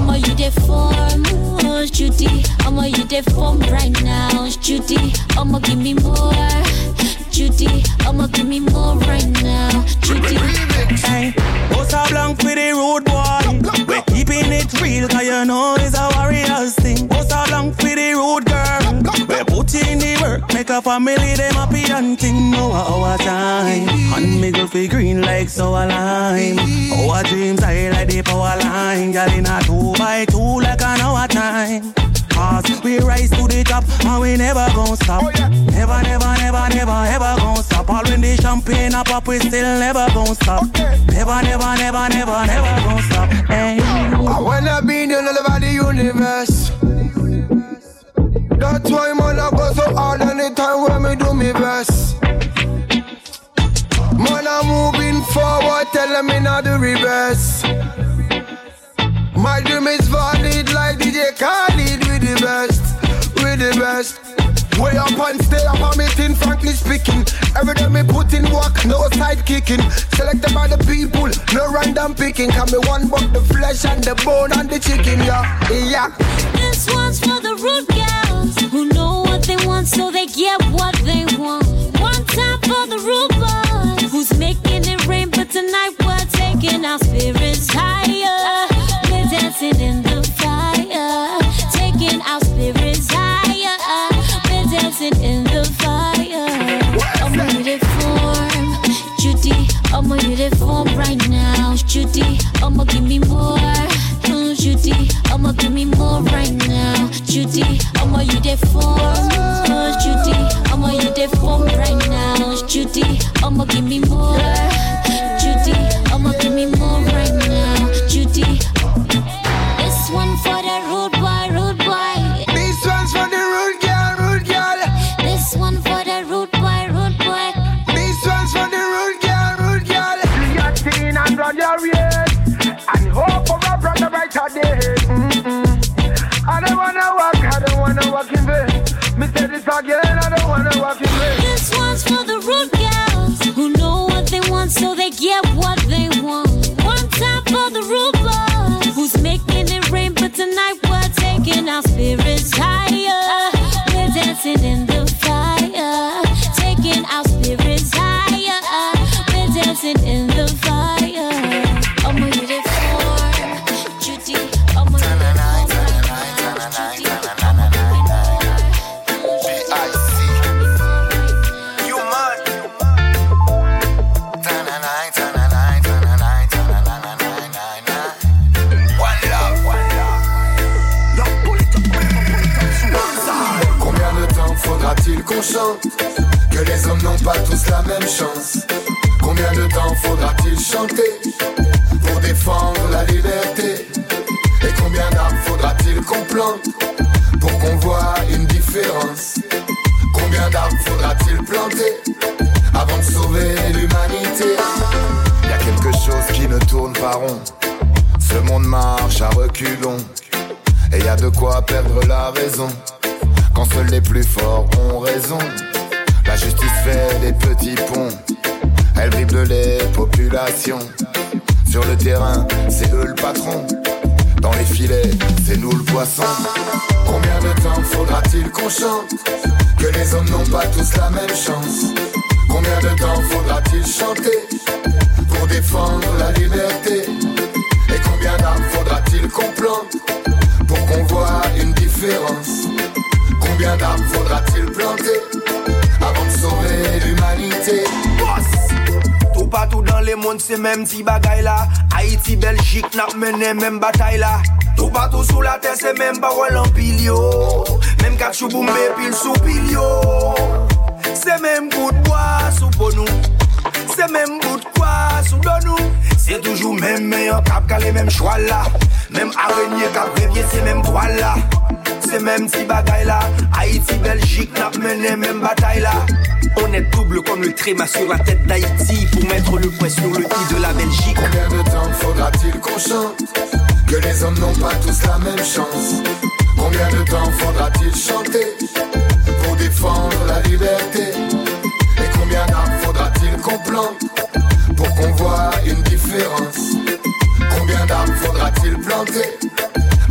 I'ma you the form, oh Judy. I'ma you the form right now, Judy. I'ma give me more, Judy. I'ma give me more right now, Judy. Hey, Bossa Blanc with the rude boy. We're keeping it real, cause you know it's a warrior's thing. Bossa Blanc with the rude girl. We're putting the work, make a family, them happy and thing. No our time. And me go feel green like sour lime. Our dreams high like the power line. Girl in a 2x2 like an hour time. Cause we rise to the top and we never gon' stop. Never, never, never, never, ever gon' stop. All when the champagne up, we still never gon' stop. Never, never, never, never, never gon' stop. Hey. I wanna be the all over the universe. That's why man I go so hard anytime when me do me best. Man I'm moving forward, telling me not the reverse. My dream is valid like DJ Khaled with the best, with the best. Way up and stay up on me thing, frankly speaking. Every day me put in work, no side kicking. Selected by the people, no random picking. Can me one buck the flesh and the bone and the chicken, yeah, yeah. This one's for the rude girls who know what they want so they get what they want. One time for the rude boys who's making it rain, but tonight we're taking our spirits higher. We're dancing in the fire, taking our spirits higher. We're dancing in the fire. I'ma you the form, Judy. I'ma you the form right now, Judy. I'ma give me more, Judy. I'ma give me more right now, Judy. I'ma you the form, Judy. I'ma you the form right now, Judy. I'ma give me more, Judy. I'ma give me more right now, Judy. This one for the rude boy, rude boy. This one's for the rude girl, rude girl. This one for the rude boy, rude boy. This one's for the rude girl, rude girl. You got teen and run your race, and hope for a brother right out there. I don't wanna walk in vain. Me say this again, I don't wanna walk in vain. This one's for the rude girls who know what they want so they get what they want. One time for the rude boys who's making it rain, but tonight we're taking our spirits higher. We're dancing in the fire, taking our spirits higher. We're dancing in the fire. I'ma you the form, Judy. I'ma you the form right now, Judy. Faudra-t-il qu'on chante que les hommes n'ont pas tous la même chance? Combien de temps faudra-t-il chanter pour défendre la liberté? Et combien d'arbres faudra-t-il qu'on plante pour qu'on voit une différence? Combien d'arbres faudra-t-il planter avant de sauver l'humanité? Y a quelque chose qui ne tourne pas rond. Ce monde marche à reculons et y a de quoi perdre la raison. Quand seuls les plus forts ont raison. La justice fait des petits ponts, elle dribble les populations. Sur le terrain, c'est eux le patron. Dans les filets, c'est nous le poisson. Combien de temps faudra-t-il qu'on chante que les hommes n'ont pas tous la même chance? Combien de temps faudra-t-il chanter pour défendre la liberté? Et combien d'arbres faudra-t-il qu'on plante pour qu'on voit une différence? Combien d'arbres faudra-t-il planter avant de sauver l'humanité? Tout partout dans le monde c'est même petit bagaille là. Haïti, Belgique n'a mené même bataille là. Tout partout sous la terre c'est même parole en pilio. Même kachou boumbe pile sous pilio. C'est même bout de bois sous ponou. C'est même bout de quoi sous donou. C'est toujours même meilleur cap qu'à les mêmes choix là. Même araignée cap réveillé c'est même toile là. C'est même petit bagaille là. Haïti, Belgique n'a mené même bataille là. On est double comme le tréma sur la tête d'Haïti pour mettre le poids sur le i de la Belgique. Combien de temps faudra-t-il qu'on chante que les hommes n'ont pas tous la même chance? Combien de temps faudra-t-il chanter pour défendre la liberté? Et combien d'arbres faudra-t-il qu'on plante pour qu'on voit une différence? Combien d'arbres faudra-t-il planter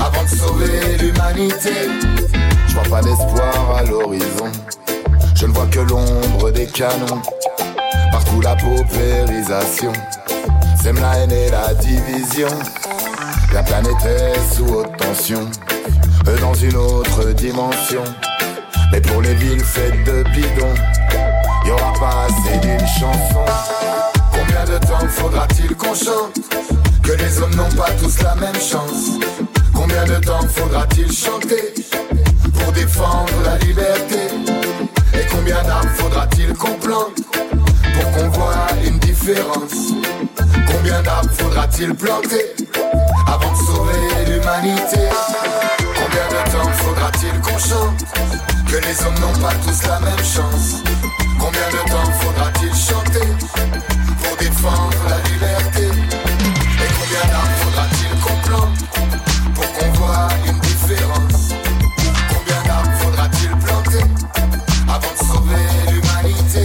l'humanité. Je vois pas d'espoir à l'horizon, je ne vois que l'ombre des canons. Partout la paupérisation sème la haine et la division. La planète est sous haute tension, dans une autre dimension. Mais pour les villes faites de bidons, y'aura pas assez d'une chanson. Combien de temps faudra-t-il qu'on chante que les hommes n'ont pas tous la même chance? Combien de temps faudra-t-il chanter pour défendre la liberté? Et combien d'arbres faudra-t-il qu'on plante pour qu'on voit une différence? Combien d'arbres faudra-t-il planter avant de sauver l'humanité? Combien de temps faudra-t-il qu'on chante que les hommes n'ont pas tous la même chance? Combien de temps faudra-t-il chanter pour défendre la liberté? Et combien d'arbres faudra-t-il qu'on plante pour qu'on voit une différence? Combien d'arbres faudra-t-il planter avant de sauver l'humanité?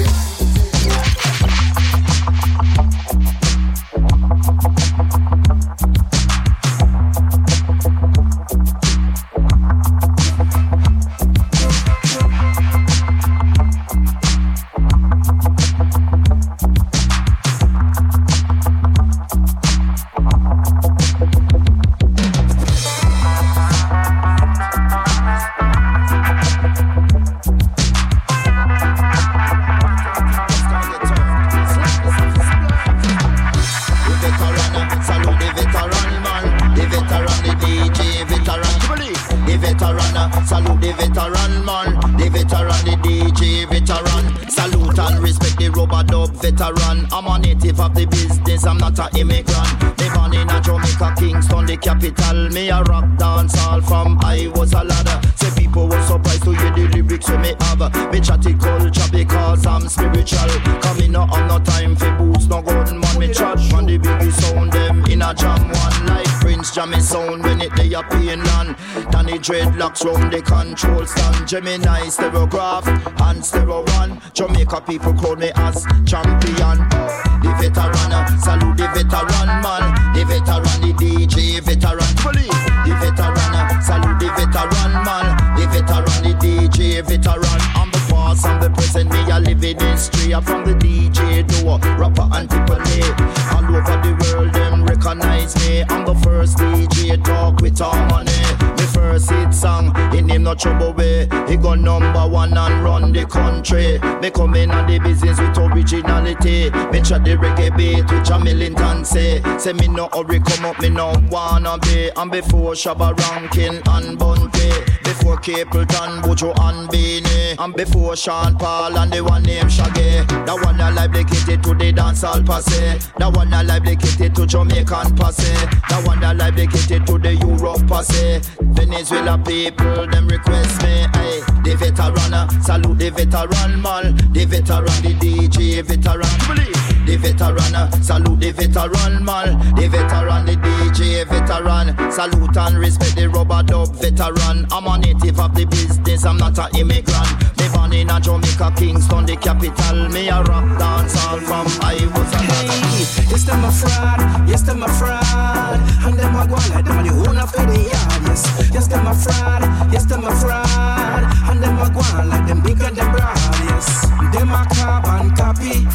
Salute the veteran man, the veteran, the DJ veteran. Salute and respect the rubber dub veteran. I'm a native of the business, I'm not an immigrant. Me born in a Jamaica, Kingston, the capital. Me a rock dance all from I was a ladder. Say people were surprised to hear the lyrics we me have. Me chatty culture because I'm spiritual. Coming up on no time for boots, no gun man. Me chat from the biggest sound them in a jam one. Like Prince Jammy sound when it they up in land. Danny dreadlocks round the control stand. Gemini stereograph and stereo one. Jamaica people call me as champion. The veteran, salute the veteran man. The veteran, the DJ veteran. The veteran, salute the veteran man. The veteran, the DJ veteran. I'm the past, I'm the present, me a living history. I'm from the DJ door, rapper and triple A. All over the world, them recognize me. I'm the first DJ talk with harmony. Me first hit song, in him no trouble way. He go number one and run the country. Me come in on the business with originality. Me chat the reggae beat with a Millington say. Say me no hurry come up, me no wanna be. And before Shabba Rankin and Bunty, before Capleton, Bojo and Beanie, and before Sean Paul and the one named Shaggy. That one I like dedicated to the dancehall passe. That one I like dedicated to Jamaican passe. That one I like dedicated to the Europe passe. Venezuela people, them request me. Hey, the veteran, salute the veteran man. The veteran, the DJ veteran. The veteran, salute the veteran man. The veteran, the DJ veteran. Salute and respect the rubber dub veteran. I'm a native of the business, I'm not an immigrant. Me born in a Jamaica, Kingston, the capital. Me a rock dance all from I was a hey, yes, them a fraud, yes, them a fraud. And them a go like them a the owner for the yard, yes. Yes, them a fraud, yes, them a fraud. And them a go like them big and them broad, yes. Them a carbon copy,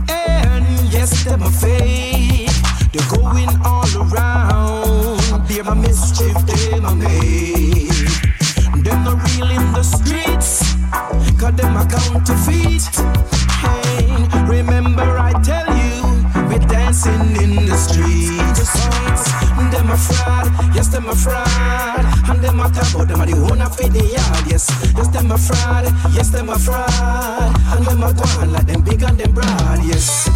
and yes, them a fake. They're going all around. They're a mischief, them a make. Them not real in the streets, cause them a counterfeit. Hey, remember I tell you, we're dancing in the streets. Them a fraud, yes, them a fraud. And them a talk about them a the owner for the yard, yes. Yes, them a fraud, yes, them a fraud. And them a go on like them big and them broad, yes.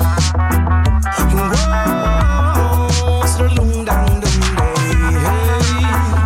Whoa, so long down the way, hey.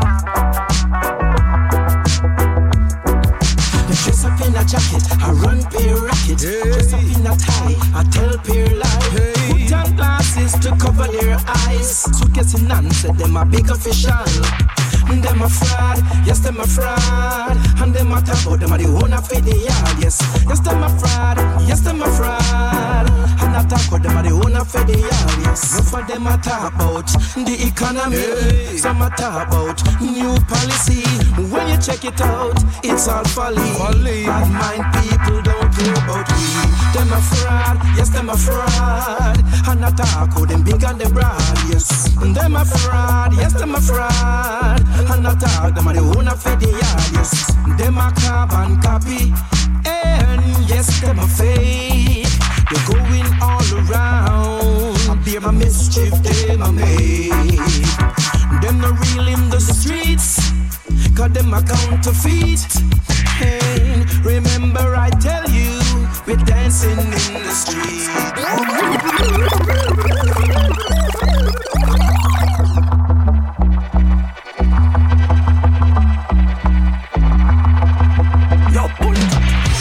You dress up in a jacket, I run pair racket. Dress up in a tie, I tell pair lie. Put on glasses to cover their eyes. Suitcase in hand, said them a big official. Them a fraud, yes, them a fraud. And them a talk about them a the owner for the yard, yes. Yes, them a fraud, yes, them a fraud. And I talk about them a the owner for the yard, yes. Enough of them a talk about the economy. Some a talk about new policy. when you check it out, it's all folly. Bad mind people don't care about we. Them a fraud, yes, them a fraud. And attack who them big and them broad, yes. Them a fraud, yes, them a fraud. And attack them a the owner for the yard, yes. Them a carbon copy, and yes, them a fake. They're going all around. I bear my mischief, them a make. Them no real in the streets, cause them a counterfeit. Hey, remember I tell you, we're dancing in the street. Yo, pull it.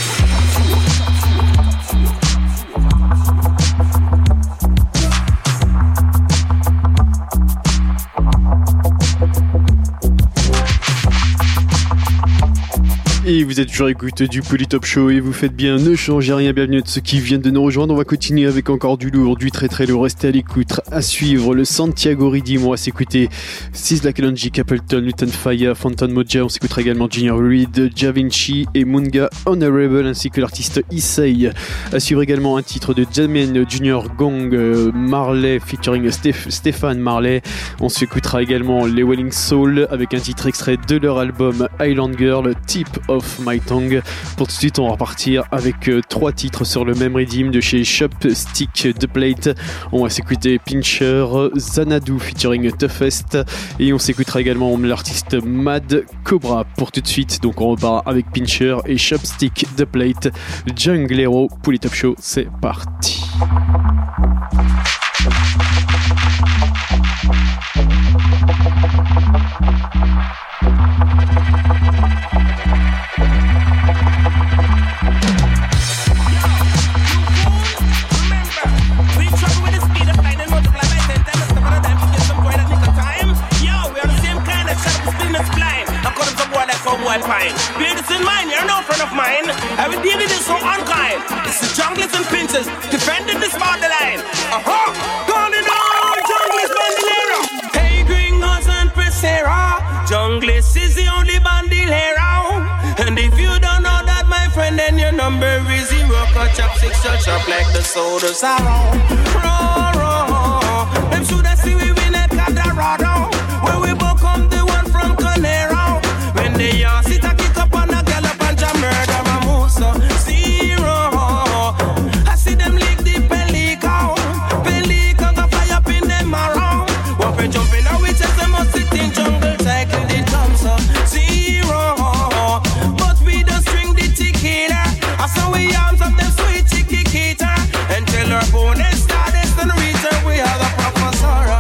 Et vous êtes toujours à l'écoute du Polytop Show et vous faites bien, ne changez rien, bienvenue à ceux qui viennent de nous rejoindre. On va continuer avec encore du lourd, du très très lourd, restez à l'écoute. À suivre, le Santiago Redeem, on va s'écouter Sizzla Kalonji, Capleton, Luton Fire, Phantom Moja, on s'écoutera également Junior Reid, Javinci et Munga Honorable ainsi que l'artiste Issei. À suivre également un titre de Jamien Junior Gong, Marley featuring Stéphane Marley. On s'écoutera également les Welling Soul avec un titre extrait de leur album Island Girl, Tip of My Tongue. Pour tout de suite, on va repartir avec 3 titres sur le même redeem de chez Chopstick The Plate. On va s'écouter Pincher, Xanadu featuring Toughest et on s'écoutera également l'artiste Mad Cobra. Pour tout de suite, donc on repart avec Pincher et Chopstick The Plate. Junglero, Polytop Show, c'est parti. Bear this in mind, you're no friend of mine. I will deal with this so unkind. It's the junglers and pincers defending this borderline. Calling all junglers bandolero. Hey, gringos and Presera. Junglers is the only bandolero. And if you don't know that, my friend, then your number is 0. Cut chop 6 shop like the sodas are on. Raw. Them should have see we win at Cadarado. When we both come the one from Conero. When they are sit a kick up on a gallop and jam murder a moose 0. I see them lick the pelican. Pelican go fly up in them around. Walk and jump in a witches, they must sit in jungle cycle the drums 0. But we don't string the tequila. I saw we arms of them sweet chiquita. Until our bonus started and reach her, we are the professor.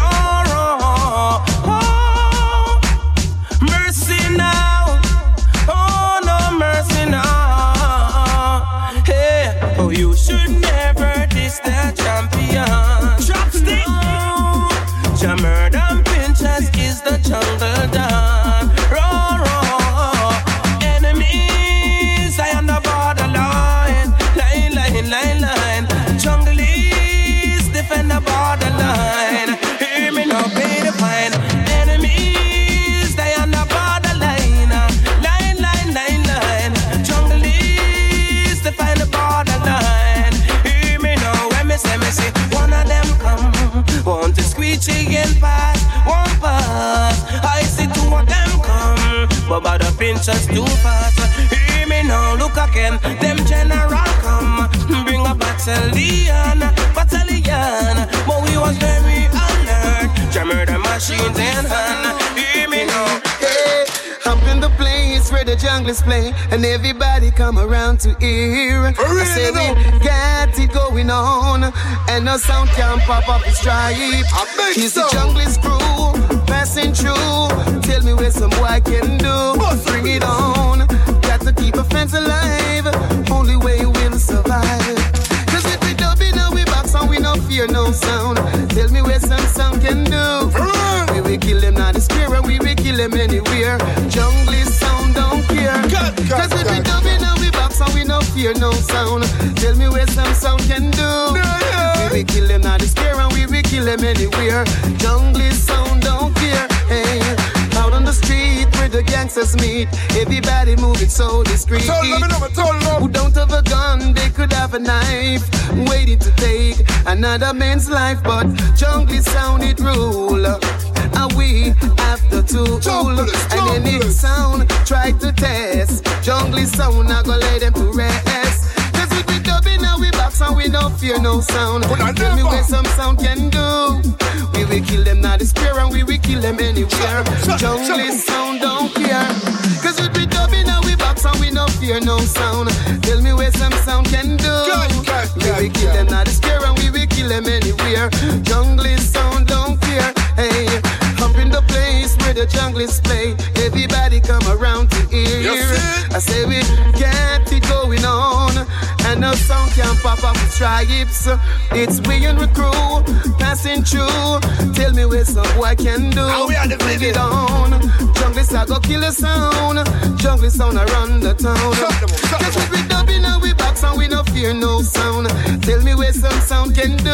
Mercy now, oh no mercy now. Hey, oh you should never diss the champion. Chopstick, Jammer and Pinchers is the jungle done. Enemies, I am the borderline. Line. Junglies defend the borderline. Hear me now, pay the fine. Enemies, they on the borderline. Line. Junglies defend the borderline. Hear me now, when me say, one of them come. Want to squeegee and pass, one pass. I see 2 of them come, but by the Pinchers too fast. Hear me now, look again, them general come. Bring a battalion, but we was very alert. Jammer the machines in hand. Hear me now. Hey, I'm in the place where the junglers play, and everybody come around to hear. I say we got it going on, and no sound can pop up the stripe. He's the junglers crew passing through. Tell me where some boy can do. Bring it on. Got to keep a fence alive. Only way we'll survive. Cause if we dubbing and we box and we no fear no sound. Tell me where some sound can do. We will kill them not the square and we will kill them anywhere. Jungle sound don't care. Cause if we dubbing and we box and we no fear no sound. Tell me where some sound can do. We will kill them not the square and we will kill them anywhere. Jungle sound don't care. Hey, out on the street where the gangsters meet. Everybody moving so discreet. Who don't have a gun, they could have a knife, waiting to take another man's life. But jungle sound it rule, and we have the tool. And any sound try to test, jungle sound I go let them to rest. Cause we be dubbing and we box and we don't fear no sound. Tell me where some sound can do. We will kill them now the square and we will kill them anywhere. Jungle sound don't care. Cause we be dubbing and we box and we don't fear no sound. Tell me where some sound can do. We will kill them now the square and we will kill them anywhere. Jungle sound don't care. Hey, up in the place where the junglers play. Everybody come around to hear. I say we get it going on, and no sound can pop up with stripes. It's we and the crew passing through. Tell me where some boy can do. Bring it on. Junglers I go kill the sound. Jungle sound I run the town. Cause we be dubbing and we box and we no fear no sound. Tell me where some sound can do.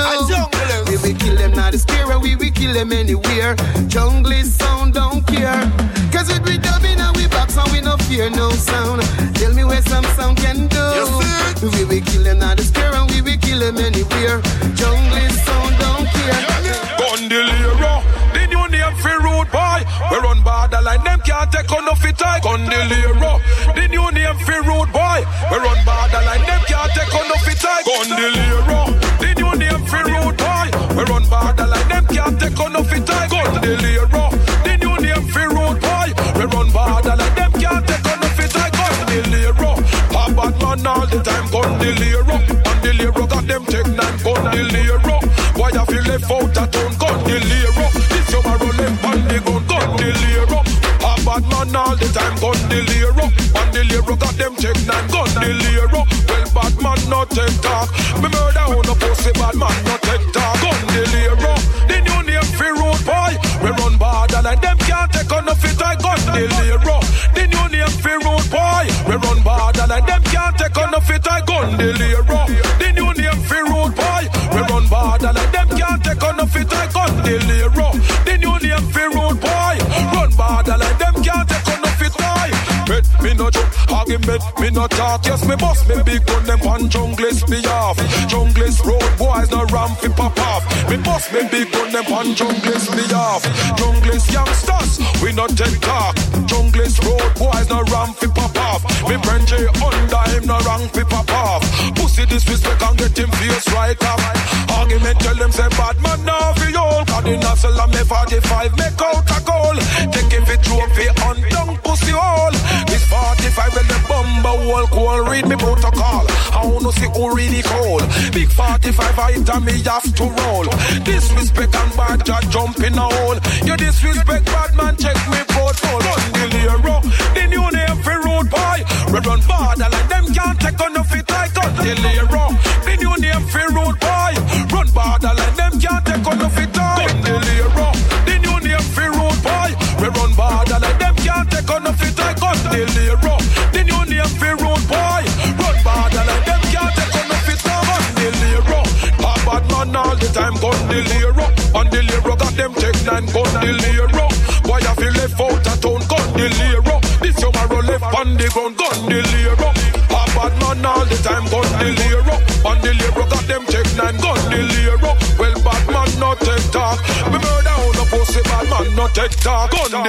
We will kill them now the scare and we will kill them anywhere. Jungle sound don't care. Cause we be dubbing and we box and we no fear no sound. Tell me where some sound can do. We will kill them now the scare and we will kill them anywhere. Jungle sound don't care. Gondoliero, the new name for road boy. We run borderline, them can't take on no fit I. Gondoliero, the new name for road boy. We run borderline, them can't take on no fit I. Gondoliero, the new name for road boy. We run borderline, them can't take on no fit I. Gondoliero, the new name for road boy. We run borderline, them can't take on no fit I. Gondoliero, a bad man all the time. Gondoliero, Gondoliero got them take nine. Gondoliero, why you feel left out of town? Gondoliero, this tomorrow left on the ground. Gondoliero, a bad man all the time. Gondoliero, Gondoliero got them take nine. Gondoliero, well bad man not take talk. Me murder on a pussy bad man not take talk. Gondoliero, the new name for road boy. We run borderline, them can't take on no fit I. Gondoliero, the new name for road boy. We run borderline, them can't take on no fit I. Gondoliero, the new name for road boy. We run borderline, them can't take on no fit I. Gondoliero, the new name for road boy. Run borderline, them can't take on no fit I. Bet me no joke, argument me no talk. Yes me boss me big gun them on junglist me off. Junglist road boys no ramp fi pop off. Me boss me big gun them on junglist me off. Junglist youngsters we no take talk. Junglist road boys no ramp fi pop off. Me friend J under him no rank fi pop off. Pussy disrespect and get him face right off. Argument tell them say bad man now fi old. Cause the nozzle of me 45 make out a goal. Take him fi trophy on down pussy hole. This 45 when the bumper wall call. Read me protocol. I wanna see who really cold. Big 45 item me have to roll. Disrespect and bad just jump in a hole. You disrespect bad man check me protocol. Gondoliero, the new name for road boy. We run borderline, them can't take on no fit I. Gondoliero, the new name for road boy. Run borderline, them can't take on no fit I. Gondoliero, the new name for road boy. We run borderline, them can't take on no fit I. Gondoliero, the new name for road boy. Run borderline, them can't take on no fit I. Gondoliero, a bad man all the time. Gondoliero, Gondoliero got them take nine. Gondoliero, why you feel left out of town? Gondoliero, this tomorrow left on the ground. Gondoliero, a bad man all the time. Gondoliero, Gondoliero got them take nine. Gondoliero, well bad man not take talk. Me murder on a pussy bad man not take talk.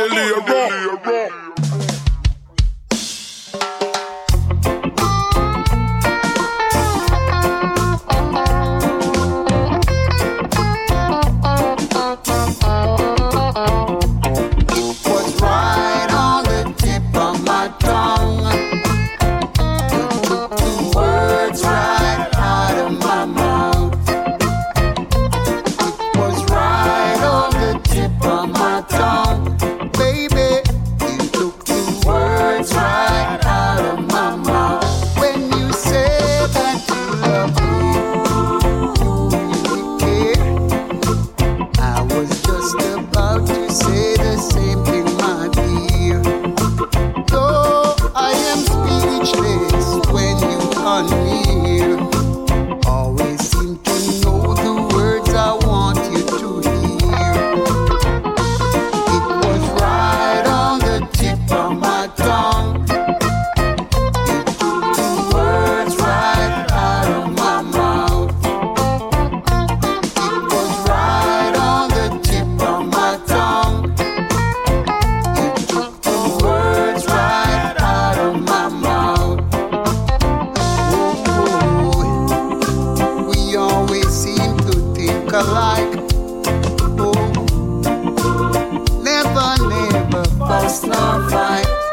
Gondoliero. Baby, you look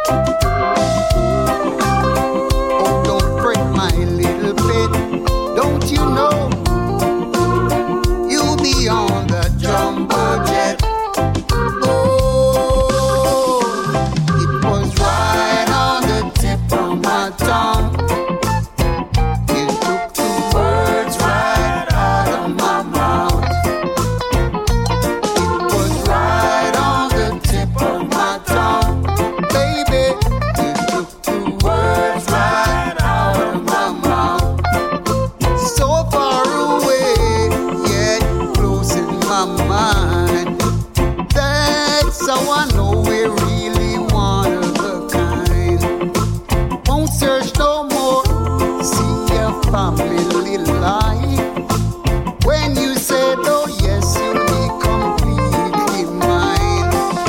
Oh, don't break my little bit. Don't you know you'll be on the jumbo jet? Oh, it was right on the tip of my tongue. You took the words right out of my mouth. It was right on the tip of my tongue. Baby, you took the words right out of my mouth. So far away, yet close in my mind. That's how I know we're really one of a kind. Won't search no more, see a family life. When you said, oh yes, you'll be completely mine.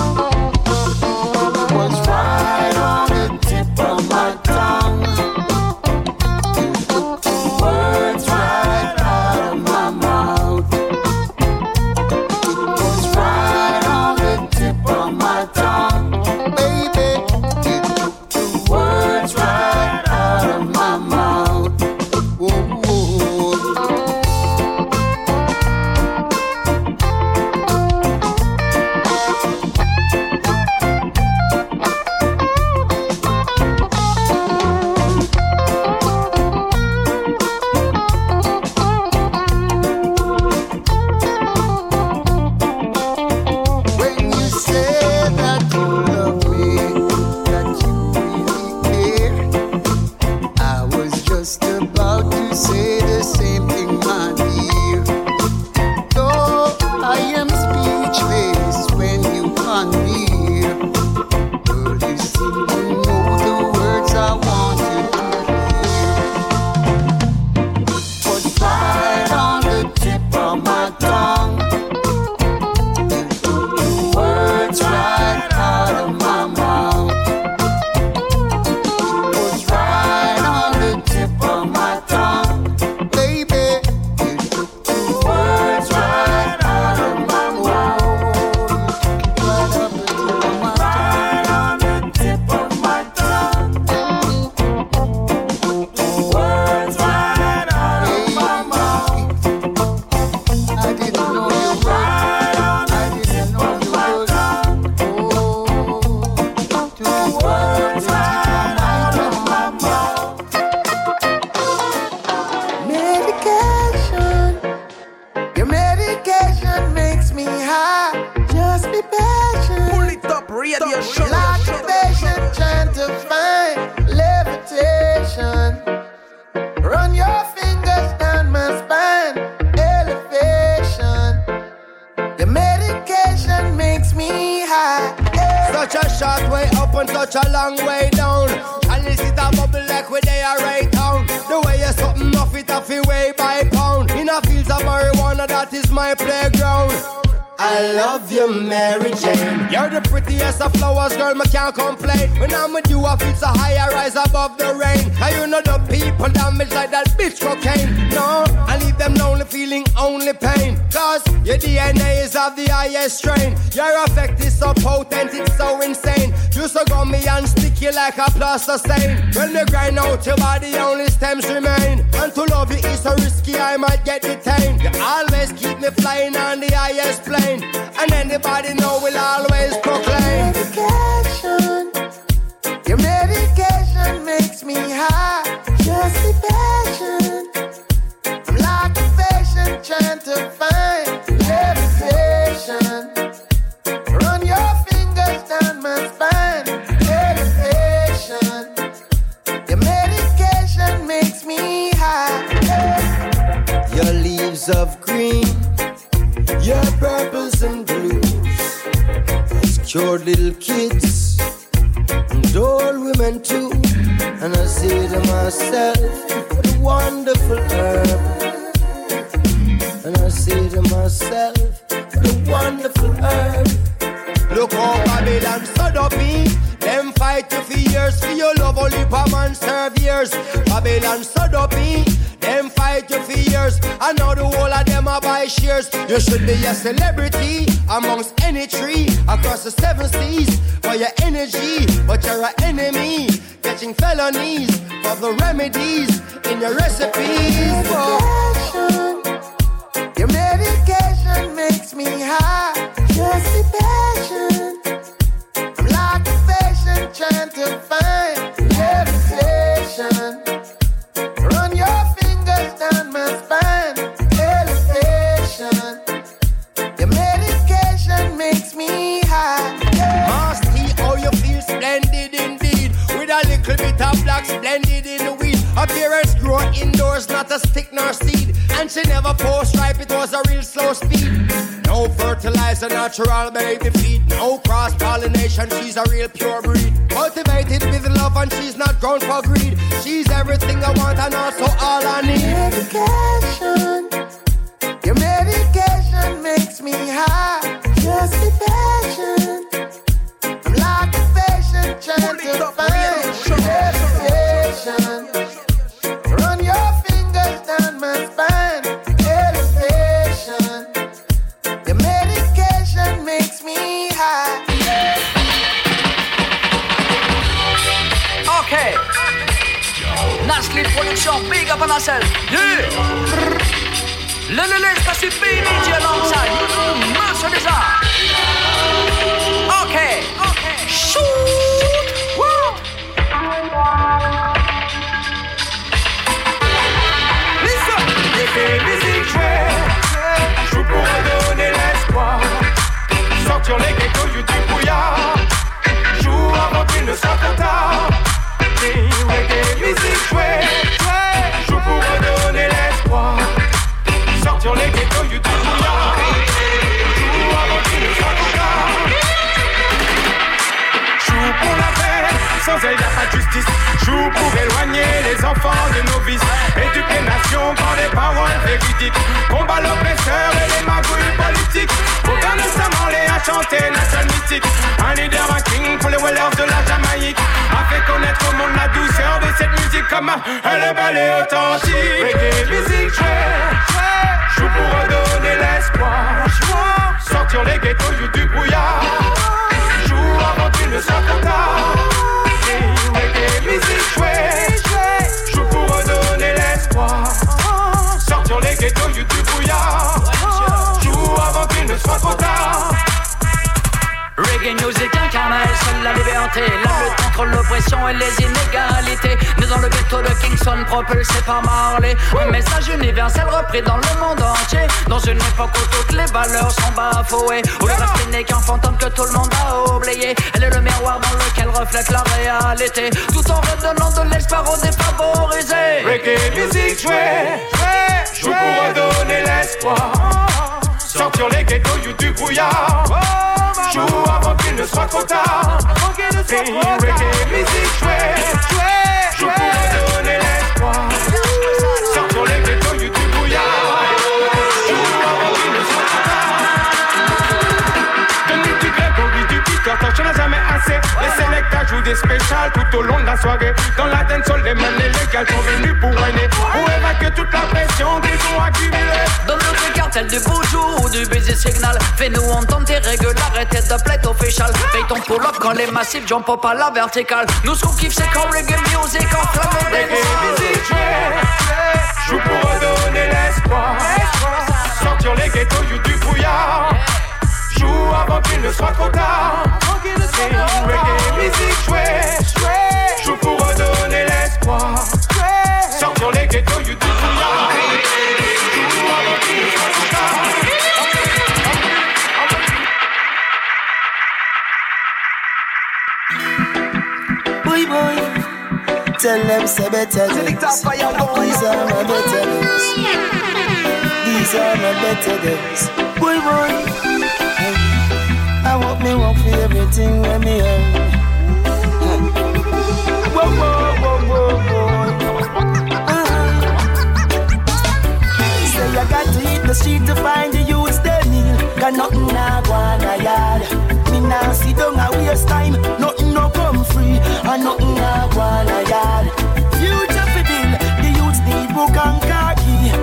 It was right on the tip of my tongue. You took the words right out of my mouth. It was right on the tip of my tongue. Baby, you took the words right out of my mouth. Whoa, whoa. When you said that you love me, that you really care, I was just about to say the same thing, my dear. Though I am speechless when you come near, girl, you seem to know the words I want you to hear. Was right on the tip of my tongue. You took the words right out of my mouth. It was right on the tip of my tongue. Baby, you took the words right out of my mouth. Right on the tip of my tongue. Words right out of my mouth. I didn't know you were. I didn't know you were. Oh, took the words right out of my mouth. Medication, your medication makes me high. Just be patient. Pull it up, radio show. Like a patient trying to find levitation. Run your fingers down my spine. Elevation. Your medication makes me high. Such a short way up and such a long way down. And this is a bubble like where they are right down. The way you're something off it off your way by pound. In a fields of marijuana, that is my playground. I love you, Mary Jane. You're the prettiest of flowers, girl, me can't complain. When I'm with you, I feel so high, I rise above the rain. And you know the people damage like that bitch cocaine. No, I leave them lonely, feeling only pain. Cause your DNA is of the highest strain. Your effect is so potent, it's so insane. You so gummy and sticky like a plaster stain. When you grind out your body, only stems remain. And to love you is so risky, I might get detained. You always keep me flying on the highest plane. And anybody know will always proclaim. Medication, your medication makes me high. Just be patient. I'm like a patient trying to find levitation. Run your fingers down my spine. Elevation. Your medication makes me high. Your leaves of green, your purples and blues, has cured little kids and old women too. And I say to myself, what a wonderful herb. And I say to myself, what a wonderful herb. Look how Babylon stood up in. Them fight you for years, for your love only per man serve years. Babylon stood up in. Them fight fight you for years. I know the whole of them are buy shares. You should be a celebrity amongst any tree across the 7 seas for your energy, but you're an enemy, catching felonies for the remedies in your recipes. Your medication makes me high. Just the passion. I'm like a patient trying to find levitation. Run your fingers down my spine. Elevation. Your medication makes me high. Master, how you feel splendid indeed. With a little bit of black splendid in the weed. Appearance grow indoors, not a stick nor seed. And she never post ripe, it was a real slow speed. No fertilizer, natural baby feed. No cross-pollination, she's a real pure breed. Cultivated with love and she's not grown for greed. She's everything I want and also all I need. Medication. Your medication makes me high. Just the passion. I'm like a patient trying to find levitation. Run your fingers down my spine. Elevation. Your medication makes me high. Okay. Nasli Production, big up on ourselves. Yeah. Lele, c'est DJ alongside. Master Design. Okay. Shoot. Woo. Listen. Les musiques jouées, je pourrais donner l'espoir. Sortir les ghettos du brouillard. Joue avant qu'il ne soit trop tard. Reggae musique jouée, je pourrais donner l'espoir. Sortir les ghettos du brouillard. Joue avant qu'il ne soit trop tard. Joue pour la paix, sans elle y'a pas de justice. Joue pour éloigner les enfants de nos vices. Éduquer nation par des paroles véridiques. Combat l'oppresseur et les magouilles politiques. Programme récemment les à chanter nation mystique. Un leader, un king pour les wellers de la Jamaïque. A fait connaître au monde la douceur de cette musique comme elle est belle et authentique. Reggae musique joue pour redonner l'espoir. Sortir les ghettos du brouillard. Joue avant qu'il ne soit trop tard. Reggae musique joue pour redonner l'espoir. Sortir les ghettos du brouillard. Joue avant qu'il ne soit trop tard. Reggae music incarne seule la liberté. La lutte contre l'oppression et les inégalités. Né dans le ghetto de Kingston, propulsé par Marley. Un message universel repris dans le monde entier. Dans une époque où toutes les valeurs sont bafouées. Où le respect n'est qu'un fantôme que tout le monde a oublié. Elle est le miroir dans lequel reflète la réalité. Tout en redonnant de l'espoir aux défavorisés. Reggae music joue pour redonner l'espoir. Sortir les ghettos du brouillard. Joue avant qu'il ne soit trop tard. Reggae music joue pour redonner l'espoir. Sortir les ghettos du brouillard. Joue avant qu'il ne soit trop tard. Donne du Grégory, du Peter, t'en as jamais assez. Les sélecteurs jouent des spéciales tout au long de la soirée. Dans la dancehall, les mains illégales sont venus pour whiner. Pour évacuer toute la pression qu'ils ont accumulée. Dans notre cartel du boujou ou du busy signal. Fais-nous entendre tes régularités de plate official. Paye ton pull-up quand les massifs jump up à la verticale. Nous ce qu'on kiffe c'est quand reggae music enflamme le reggae music joue pour redonner l'espoir. Sortir les ghettos du brouillard. Joue avant qu'il ne soit trop tard. Reggae music joue pour redonner l'espoir. Sortir les ghettos du brouillard. Joue avant qu'il ne soit trop tard. Boy, tell them say better days. These are my better days. These are my better days. Boy, I want me work for everything when me earn. Say I got to hit the street to find the youths they kneel. Got nothing I wanna yard. Me now sit down a waste time. Nothing no come free. And nothing I wanna yard. Future for bill. The youths need book and khaki.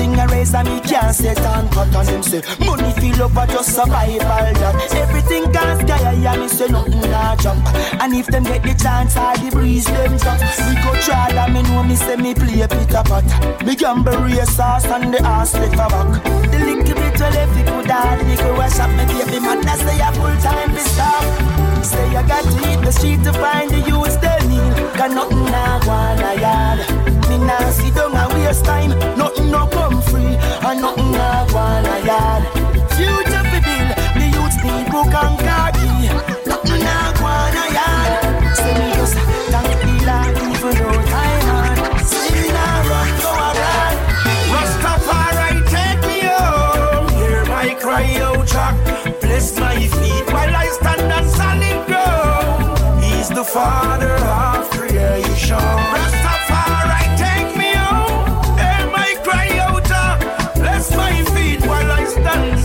thing I raise and me can't set and cut on him say money feel up for just survival that everything can sky and me say nothing not jump. And if them get the chance I the breeze them jump. We go try that me know me say me play Peter Pot. Me gamble race sauce and the ass lick for back. The little bit well if you could have nigga wash up me baby man that's say a full time be stop. Say I got to hit the street to find the youths they need. Got nothing now wanna yard. Me now see down a waste time. Nothing no come free and nothing now wanna yard. Future for bill, the youths need book and khaki. Nothing now wanna yard. Say me just thank the Lord even though time hard. Say me now run go around. Rastafari take me home. Hear my cry out Jack. Bless my feet while I stand on solid ground. He's the Father of creation. Rastafari take me home. Hear my cry out Jack. Bless my feet while I stand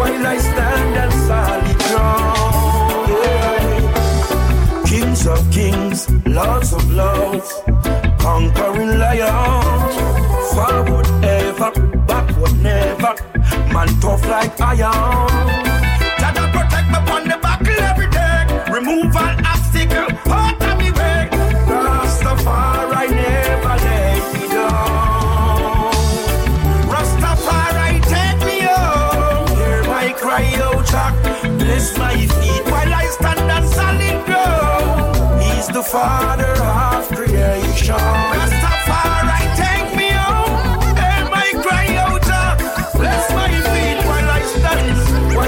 on solid ground. Yeah. Kings of kings, lords of lords, conquering lion. Forward ever, backward never. Man tough like iron. Jaja protect me on the buckle every day. Remove all obstacle out of me way. Rastafari never let me down. Rastafari take me home. Hear my cry out Jack. Bless my feet while I stand on solid ground. He's the Father of creation. Rastafari take me home. Hear my cry out Jack. Bless my feet while I stand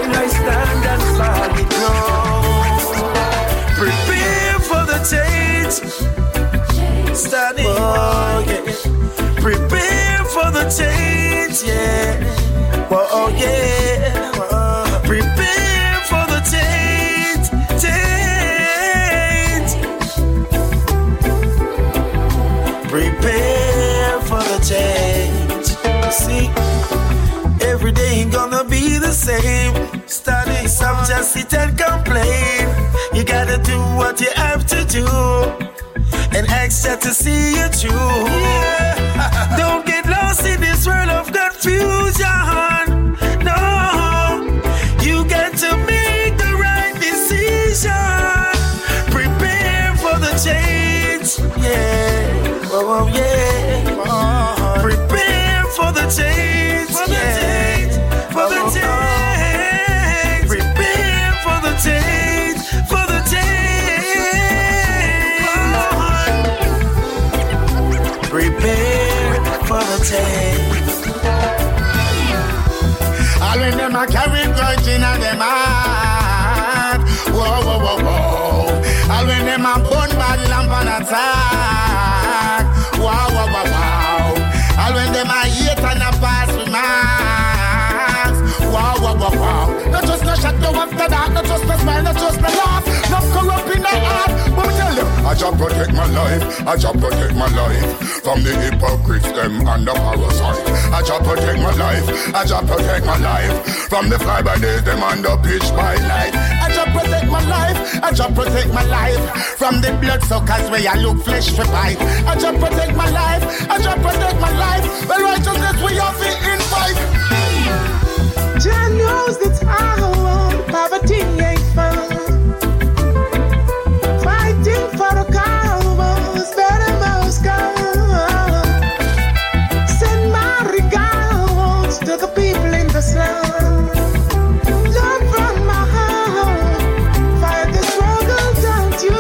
on solid ground. Prepare for the change. Standing, oh yeah. Prepare for the change, yeah. Oh yeah. Prepare for the change. Prepare for the change. See, every day ain't gonna be the same. Study, some just sit and complain. You gotta do what you have to do and expect to see you through. Yeah. Don't get lost in this world of confusion. No, you got to make the right decision. Prepare for the change. Yeah, oh yeah. Prepare for the change. For the change. For the change. Prepare for the change. For the change. Prepare for the change. All when them a carry grudge in a them heart. Whoa, whoa, whoa, whoa. All when them a burn bad lamp on attack. Wow, wow, wow, wow. All when them a hate and a pass with marks. Wow, wow, wow, wow. Not just no shot, no after that. Not just no smile, not just no laugh. Not corrupt in the heart. But me tell you, I just protect my life. I just protect my life from the hypocrites, them and the parasite. I just protect my life. I just protect my life from the fly by days, them and the pitch by night. I just protect my life. I just protect my life from the bloodsuckers where I look flesh for bite. I just protect my life. I just protect my life. Well, righteousness we have to invite. Jah knows the time, poverty ain't fun. Fighting for the cause, better most come. Send my regards to the people in the slum. Love from my heart, fight the struggle, don't you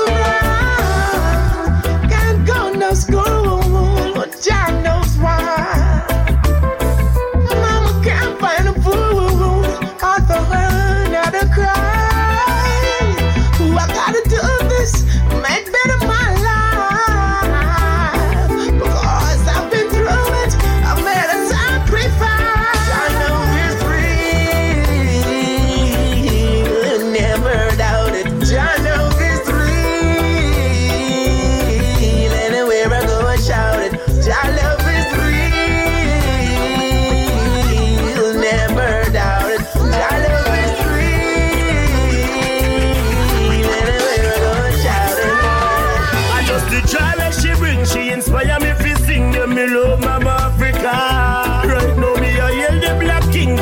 run. Can't go no school, Jah knows why.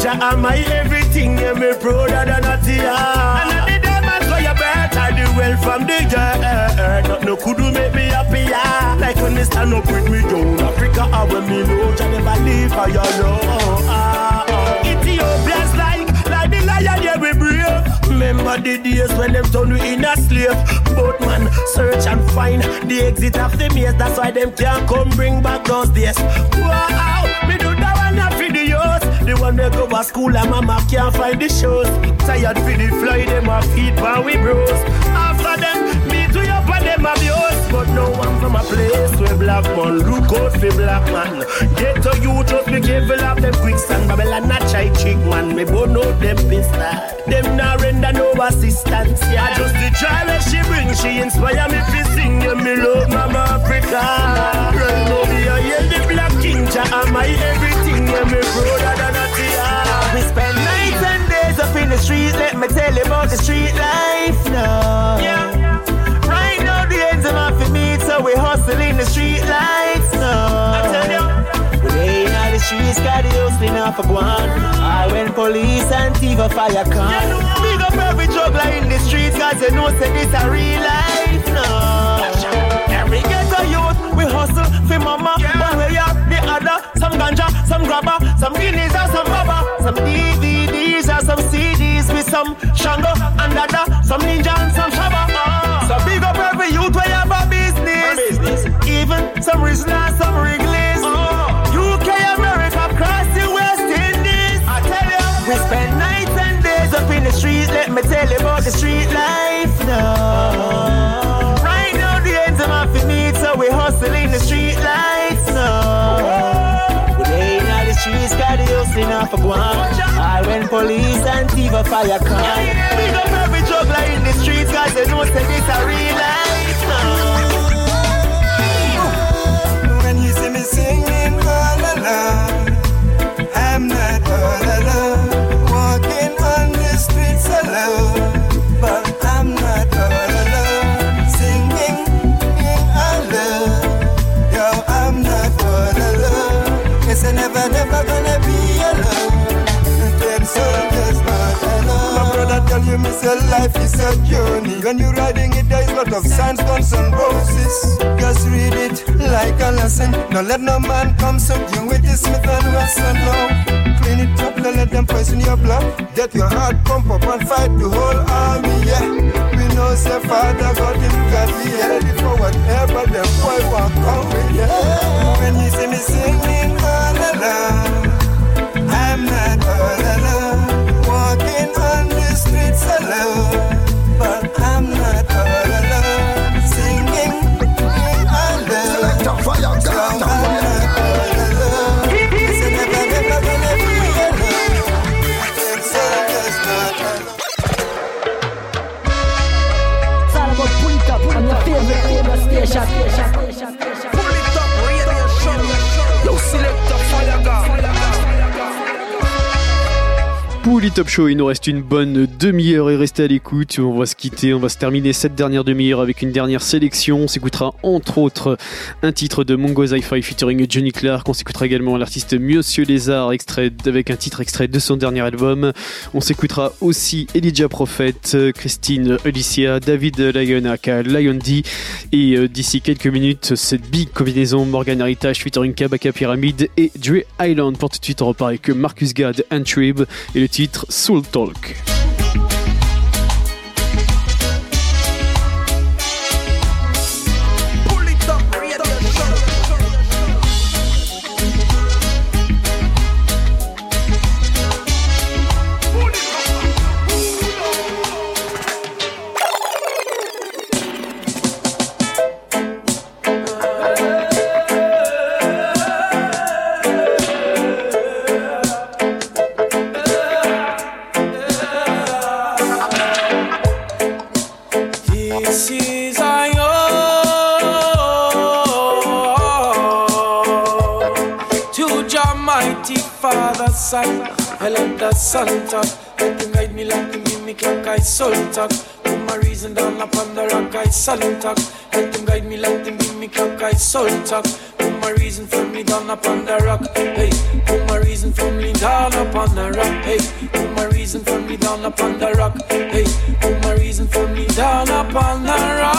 Jah am my everything, yeah, me prouder than a tear. And at the diamonds for your birth, I do well from the earth. Not no could do make me happier. Like when me stand up with me down Africa, or when me know Jah never leave for your love. Ethiopia's like the lion, yeah, we brave. Remember the days when them turn we in a slave. Both man search and find the exit of the maze. That's why them can't come bring back those days. Wow, me do that one up for the youth. The one that go to school and mama can't find the shows. Tired for the fly, them a feed while we bros. After them, me to up and them abuse. But no one from a place where black man look out for black man. Get to you, just be careful of them quicksand. Babylon not try chick man, me both know them pistol. Them not render no assistance, yeah. Just the joy that she bring, she inspire me to sing. Yeah, me love Mama Africa. Right now me a yell the black king, Jah am my everything. Yeah, me brother than a tear. We spend nights and days up in the street. Let me tell you about the street life now. Yeah. Right now the ends are not for me, so we hustle in the street lights now. I tell you. We ain't on the streets, got the hustling off a guan. I when police and thief a fire come. Big up every juggler in the streets, cause you know say this a real life now. Every ghetto youth, we hustle for mama. One way up, the other. Some ganja, some grabber, some guineas or some rubber. Some DVDs or some CDs with some Shango and Dada. Some ninja and some shabba. So big up every youth where you have a business. Even some Rizla, some Wrigley's. UK, America, across the West Indies. I tell you, we spend nights and days up in the street. Let me tell you about the street life now. Right now the ends are not for me, so we hustle in the street lights now. We ain't on the streets, got the hustling off a guan. I when police and thief a fire come. Big up every juggler in the streets, cause they know say this a real life now. When you see me singing all alone, I'm not all alone. Walking on the streets alone, but I'm not all alone. Singing alone, yo, I'm not all alone. Yes, I'm never gonna be alone. Them soldiers not alone. My brother tell you, miss your life is a journey. When you're riding it, there is a lot of signs, guns and roses. Just read it like a lesson. Don't let no man come sub you with the Smith and Wesson. No, clean it up, don't let them poison your blood. Get your heart pump up and fight the whole army, yeah. We know say Father God him got me ready for whatever them boy want come with, yeah. When you see me singing all alone, I'm not all alone. Walking on the streets alone, but I'm not all alone. Singing alone. Select a fire, God. I'm not all alone. Yes, I'm never gonna be alone. Them soldiers not alone. It's all about pull it up on your favorite station. Pull it up, radio show. Yo, select a fire, God. Pouli Top Show, il nous reste une bonne demi-heure et restez à l'écoute. On va se quitter, on va se terminer cette dernière demi-heure avec une dernière sélection. On s'écoutera entre autres un titre de Mongo Zi-Fi featuring Johnny Clark. On s'écoutera également l'artiste Monsieur Lézard avec un titre extrait de son dernier album. On s'écoutera aussi Elijah Prophet, Christine Alicia, David Lion aka Lion D. Et d'ici quelques minutes, cette big combinaison Morgan Heritage featuring Kabaka Pyramid et Dre Island. Pour tout de suite, on repart avec Marcus Gad and Trib et le titre Soul Talk. I let the sun talk. Let him guide me like him give me clock. I soul talk. Put my reason down upon the rock. I soul talk. Let him guide me like him give me clock. I soul talk. Put my reason for me down upon the rock. Hey, put my reason for me down upon the rock. Hey, put my reason for me down upon the rock. Hey, put my reason for me down upon the rock.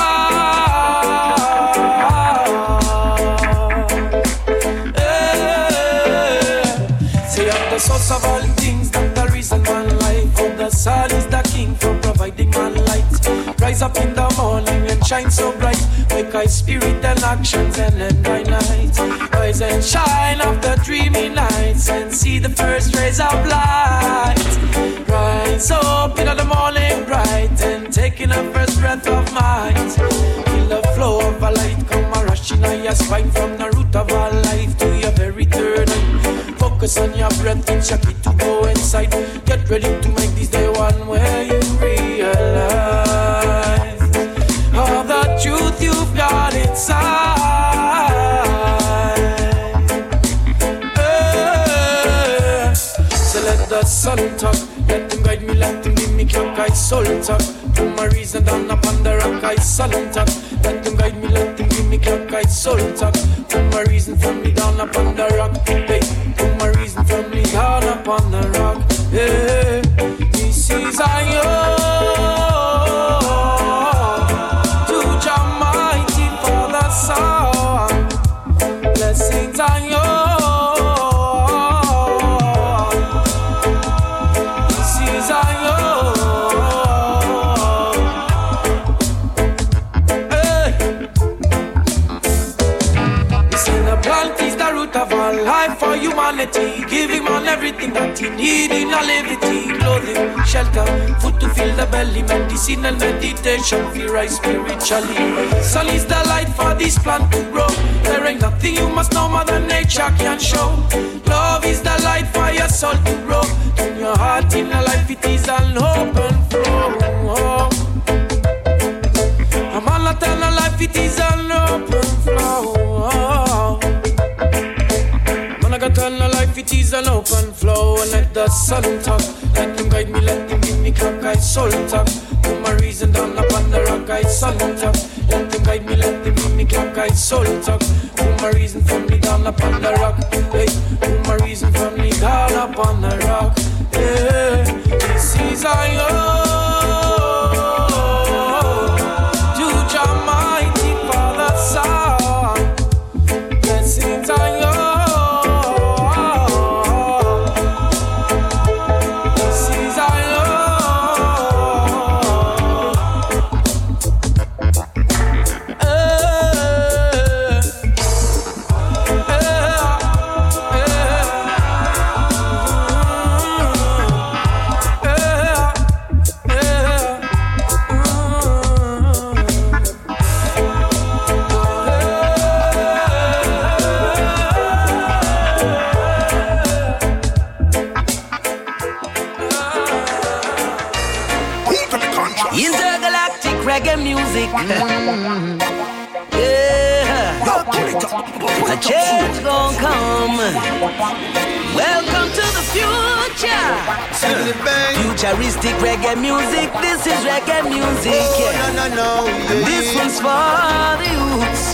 Say I'm the source of all things, that's the reason my life. Oh, the sun is the king for providing my light. Rise up in the morning and shine so bright. Wake I spirit and actions and end my night. Rise and shine after dreamy nights and see the first rays of light. Rise up in the morning bright and taking the first breath of might. Feel the flow of a light come a rushing on your spine from the root of our life to your very third. Focus on your breath and check it to go inside. Get ready to make this day one where you realize all the truth you've got inside. So let the sun talk, let him guide me, let him give me clock, I soul talk. Put my reason down upon the rock, I sullen talk. Let him guide me, let him give me clock, I soul talk. Put my reason for me down upon the rock. Hey, put my reason for me down upon the rock. Hey, this is I blessings on you. This is on you. Hey. Listen, the plant is the root of all life for humanity. Giving man everything that he need in a levity. Clothing, shelter, food to fill the belly. Medicine and meditation, feel right spiritually. Sun is the light for this plant to grow. There ain't nothing you must know Mother Nature can show. Love is the light for your soul to grow. In your heart, in your life, it is an open flow. I'm on eternal life, it is an open flow. Man, I got eternal life, it is an open flow. And let the sun talk, let him guide me, let him give me clock, I soul talk. Put my reason down upon the rock, I sun talk. Let him guide me, let him give me clock, I soul talk. Put my reason for me down upon the rock. Hey, put my reason for me down upon the rock. Hey, this is I to Jah mighty Father Son. Blessings I this is I reggae music. Yeah, a change gon' come. Welcome to the future. Futuristic reggae music. This is reggae music. Yeah. No. And this one's for the youths.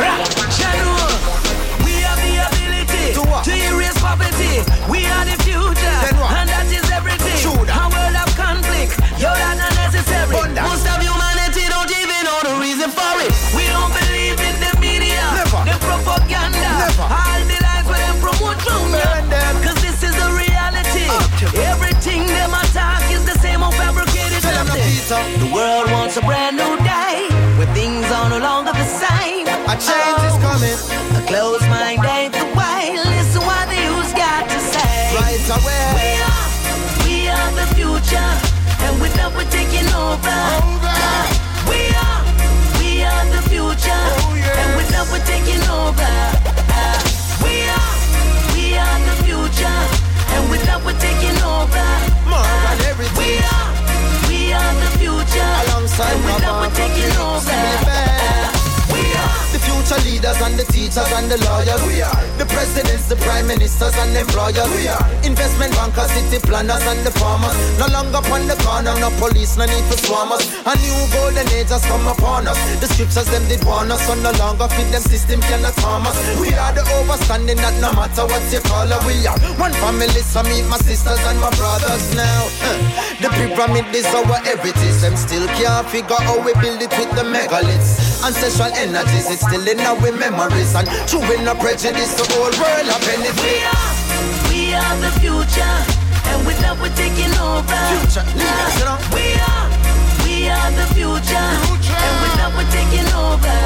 We have the ability to erase poverty. We are the future, and that is everything. A world of conflict, you're not unnecessary. Most of humanity don't even know the reason for it. We don't believe in the media, the propaganda, all the lies where they promote from them. Cause this is the reality. Everything them attack is the same old fabricated something. The world wants a brand new day, where things are no longer the same. A change is coming. A closed mind ain't the way. Listen what the youth's got to say. Right away. We are the future, and with that we're taking over. We are the future, and with that we're taking over. We are the future, and with that we're taking over. More than everything. We are the future, alongside and with that we're taking over. The future leaders and the teachers and the lawyers. We are the presidents, the prime ministers and employers. We are invest businessmen, bankers, city planners, and the farmers. No longer upon the corner, no police, no need for swarmers. A new golden age has come upon us. The scriptures them did warn us, so no longer fit them system cannot harm us. We are the overstanding that no matter what you call us, we are one family, so meet my sisters and my brothers now. The pyramid is our heritage, them still can't figure how we build it with the megaliths. Ancestral energies, it's still in our memories, and true in our prejudice, the whole world a benefit. We are the future, and with that we're taking over. Future leaders, you know. We are the future, and with that we're taking over.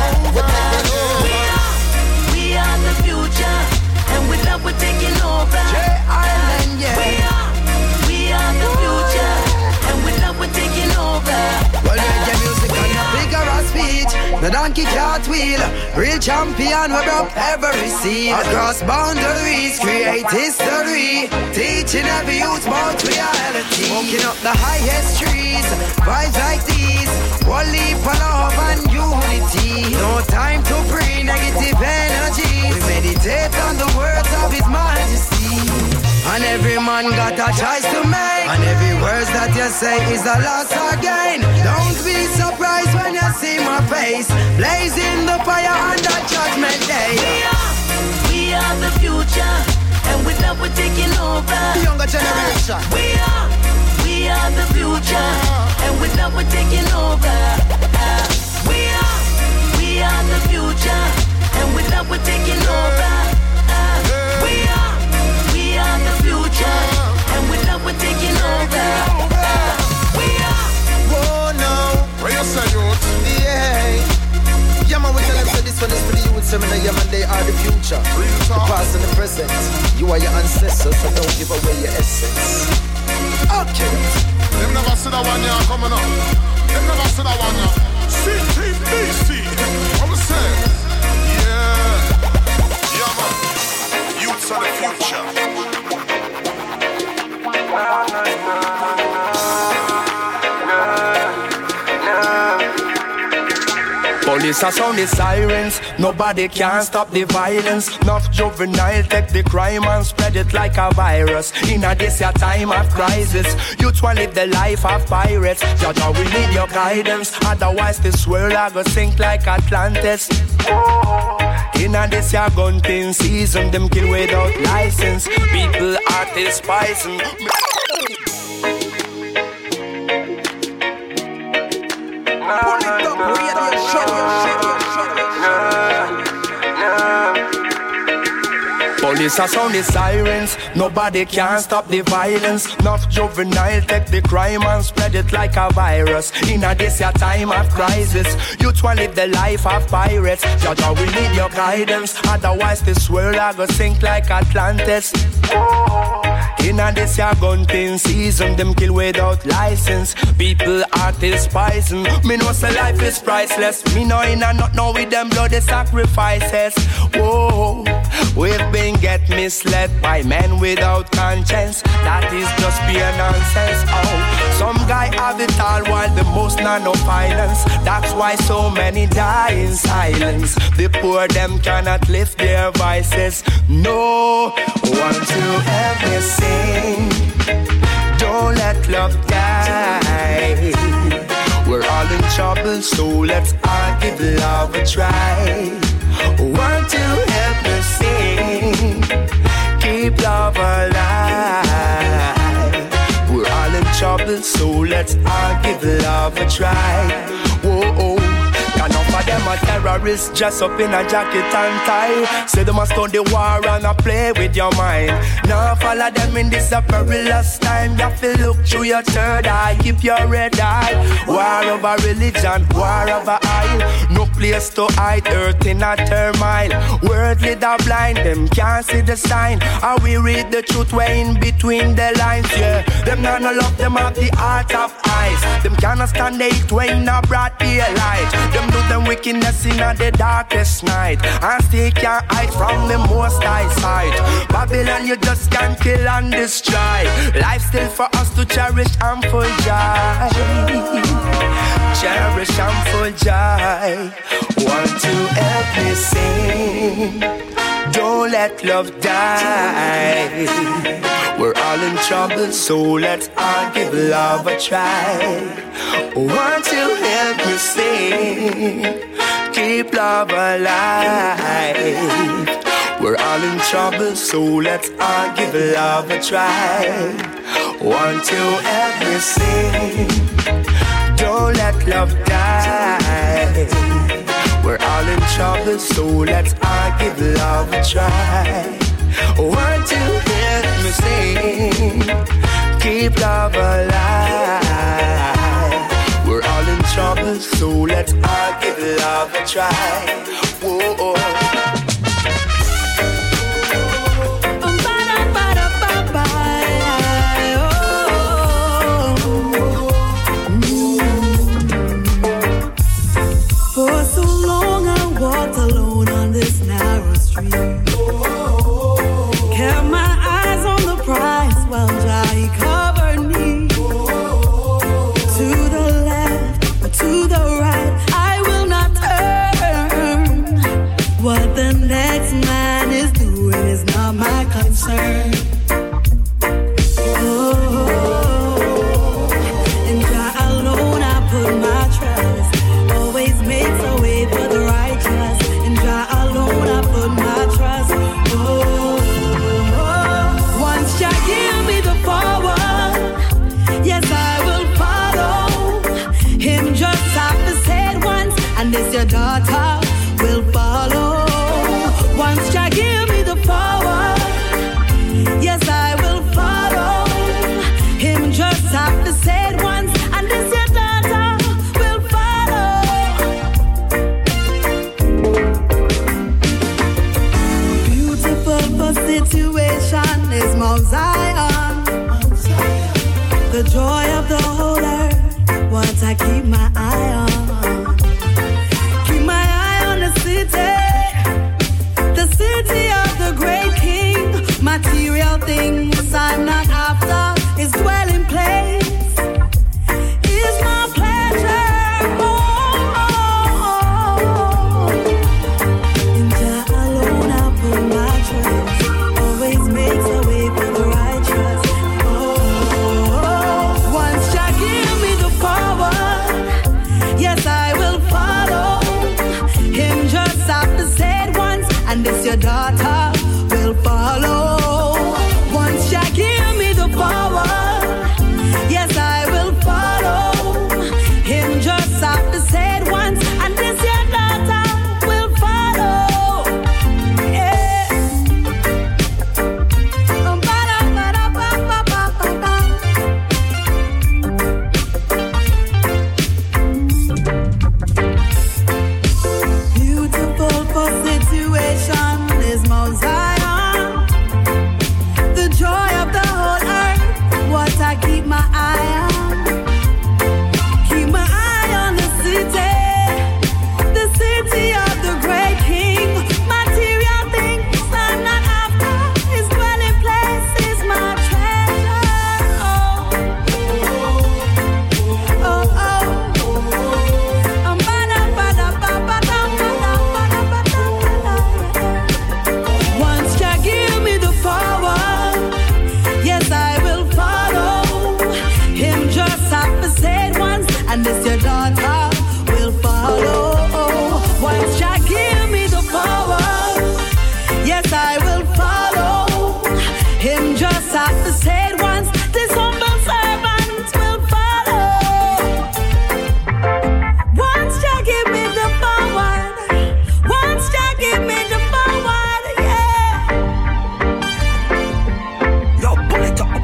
We are the future, and with that we're taking over. J-Island, yeah. We are the future, and with that we're taking over. Well, reggae music on a bigger speech. The donkey can't wheel. Real champion, we broke every scene. Across boundaries, create history. Teaching every youth about reality. Smoking up the highest trees. Vibes like these. One leap of love and unity. No time to bring negative energy. We meditate on the words of His Majesty. And every man got a choice to make. And every word that you say is a loss again. Don't be surprised when you see my face blazing the fire on that judgment day. We are the future, and with that we're taking over. The younger generation. We are the future, and with that we're taking over. We are the future, and with that we're taking over. We are the future, and with that we're taking over. Whoa, no. What you say, youth? Yeah. Yeah, man, we tell them so this one is for the youth seminar. Yeah, man, they are the future. The past and the present. You are your ancestors, so don't give away your essence. Okay. Them never see that one, yeah, coming up. Them never see that one, yeah. CTBC. What we say? Yeah. Yeah, man. Youths are the future. Police are sound the sirens, nobody can stop the violence. Enough juvenile take the crime and spread it like a virus. In a this your time of crisis, youth will live the life of pirates. Judge, we need your guidance, otherwise this world I go sink like Atlantis. In a this your gun thing season, them kill without license. People artists poison. Pull it up, radio show. Police are sound the sirens, nobody can stop the violence. Enough juvenile take the crime and spread it like a virus. In a this your time of crisis, youth will live the life of pirates. Judge, we need your guidance, otherwise this world I go sink like Atlantis. In a this your gun thing season, them kill without license. People artists poison. Me know say life is priceless. Me know in a not know with them bloody sacrifices. Whoa, we've been get misled by men without conscience. That is just pure nonsense. Oh, some guy have it all while the most none no violence. That's why so many die in silence. The poor them cannot lift their voices. No, want to help me sing. Don't let love die. We're all in trouble, so let's all give love a try. Want to help me sing. Keep love alive. We're all in trouble, so let's all give love a try. Whoa. Enough of them are terrorists dressed up in a jacket and tie. Say they must start the war and a play with your mind. Now follow them in this a perilous time. You have to look through your third eye, keep your red eye. War over religion, war over oil. No place to hide, earth in a turmoil. Worldly the blind, them can't see the sign. And we read the truth way in between the lines, yeah. Them not no love, them have the heart of ice. Them cannot stand the heat way in a broad daylight. Them do them wickedness in the darkest night, and still can't hide from the most high side. Babylon, you just can't kill and destroy. Life still for us to cherish and full joy. Cherish and full joy. Want to help me sing. Don't let love die. We're all in in trouble, so let's all give love a try. Want to help me sing, keep love alive. We're all in trouble, so let's all give love a try. Want to help me sing, don't let love die. We're all in trouble, so let's all give love a try. Want to help me sing, keep love alive. We're all in trouble, so let's all give love a try. Whoa. For so long I walked alone on this narrow street. Kept my eyes on the prize while Jai covered me. To the left or to the right, I will not turn. What the next man is doing is not my concern. In Jah alone I put my trust. Always makes a way for the righteous. In Jah alone I put my trust. Once Jah give me the forward, yes I will follow. Him just have to say it once, and this your daughter will follow. Once Jah give me the forward, yes I will follow. Him just have to say it once, and this your daughter will follow. Beautiful for situation is Mount Zion. The joy of the whole earth, what I keep my eye on. Keep my eye on the city of the great King. Material things I'm not after, his dwelling place is my pleasure. In Jah alone I put my trust. Always makes a way for the righteous. Once Jah give me the forward, yes I will follow. Him just have to say it once, and this your daughter will follow. Once Jah give me the forward, yes I will follow. Him just have to say it once, and this your daughter will follow. Yeah. Beautiful for situation is Mount Zion. The joy of the whole earth, what I keep my eye on. Keep my eye on the city of the great King. Material things I'm not after, his dwelling place is my treasure. Once Jah give me the forward, yes I will follow. Him just have to say it once, and this your daughter will follow. Once Jah give me the forward, yes I will follow. Him just have to say it once, this humble servant will follow. Once Jah give me the forward, once Jah give me the forward, yeah. Yo, pull it up.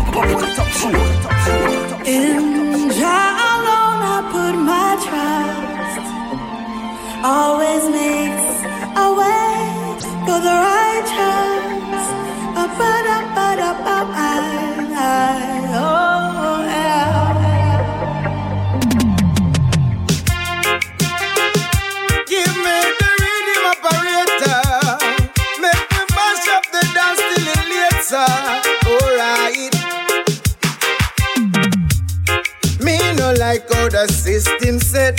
In Jah alone I put my trust. Always makes a way for the righteous. Oh yeah. Give me the rhythm operator. Make me mash up the dance till it later. Alright. Me no like how the system set.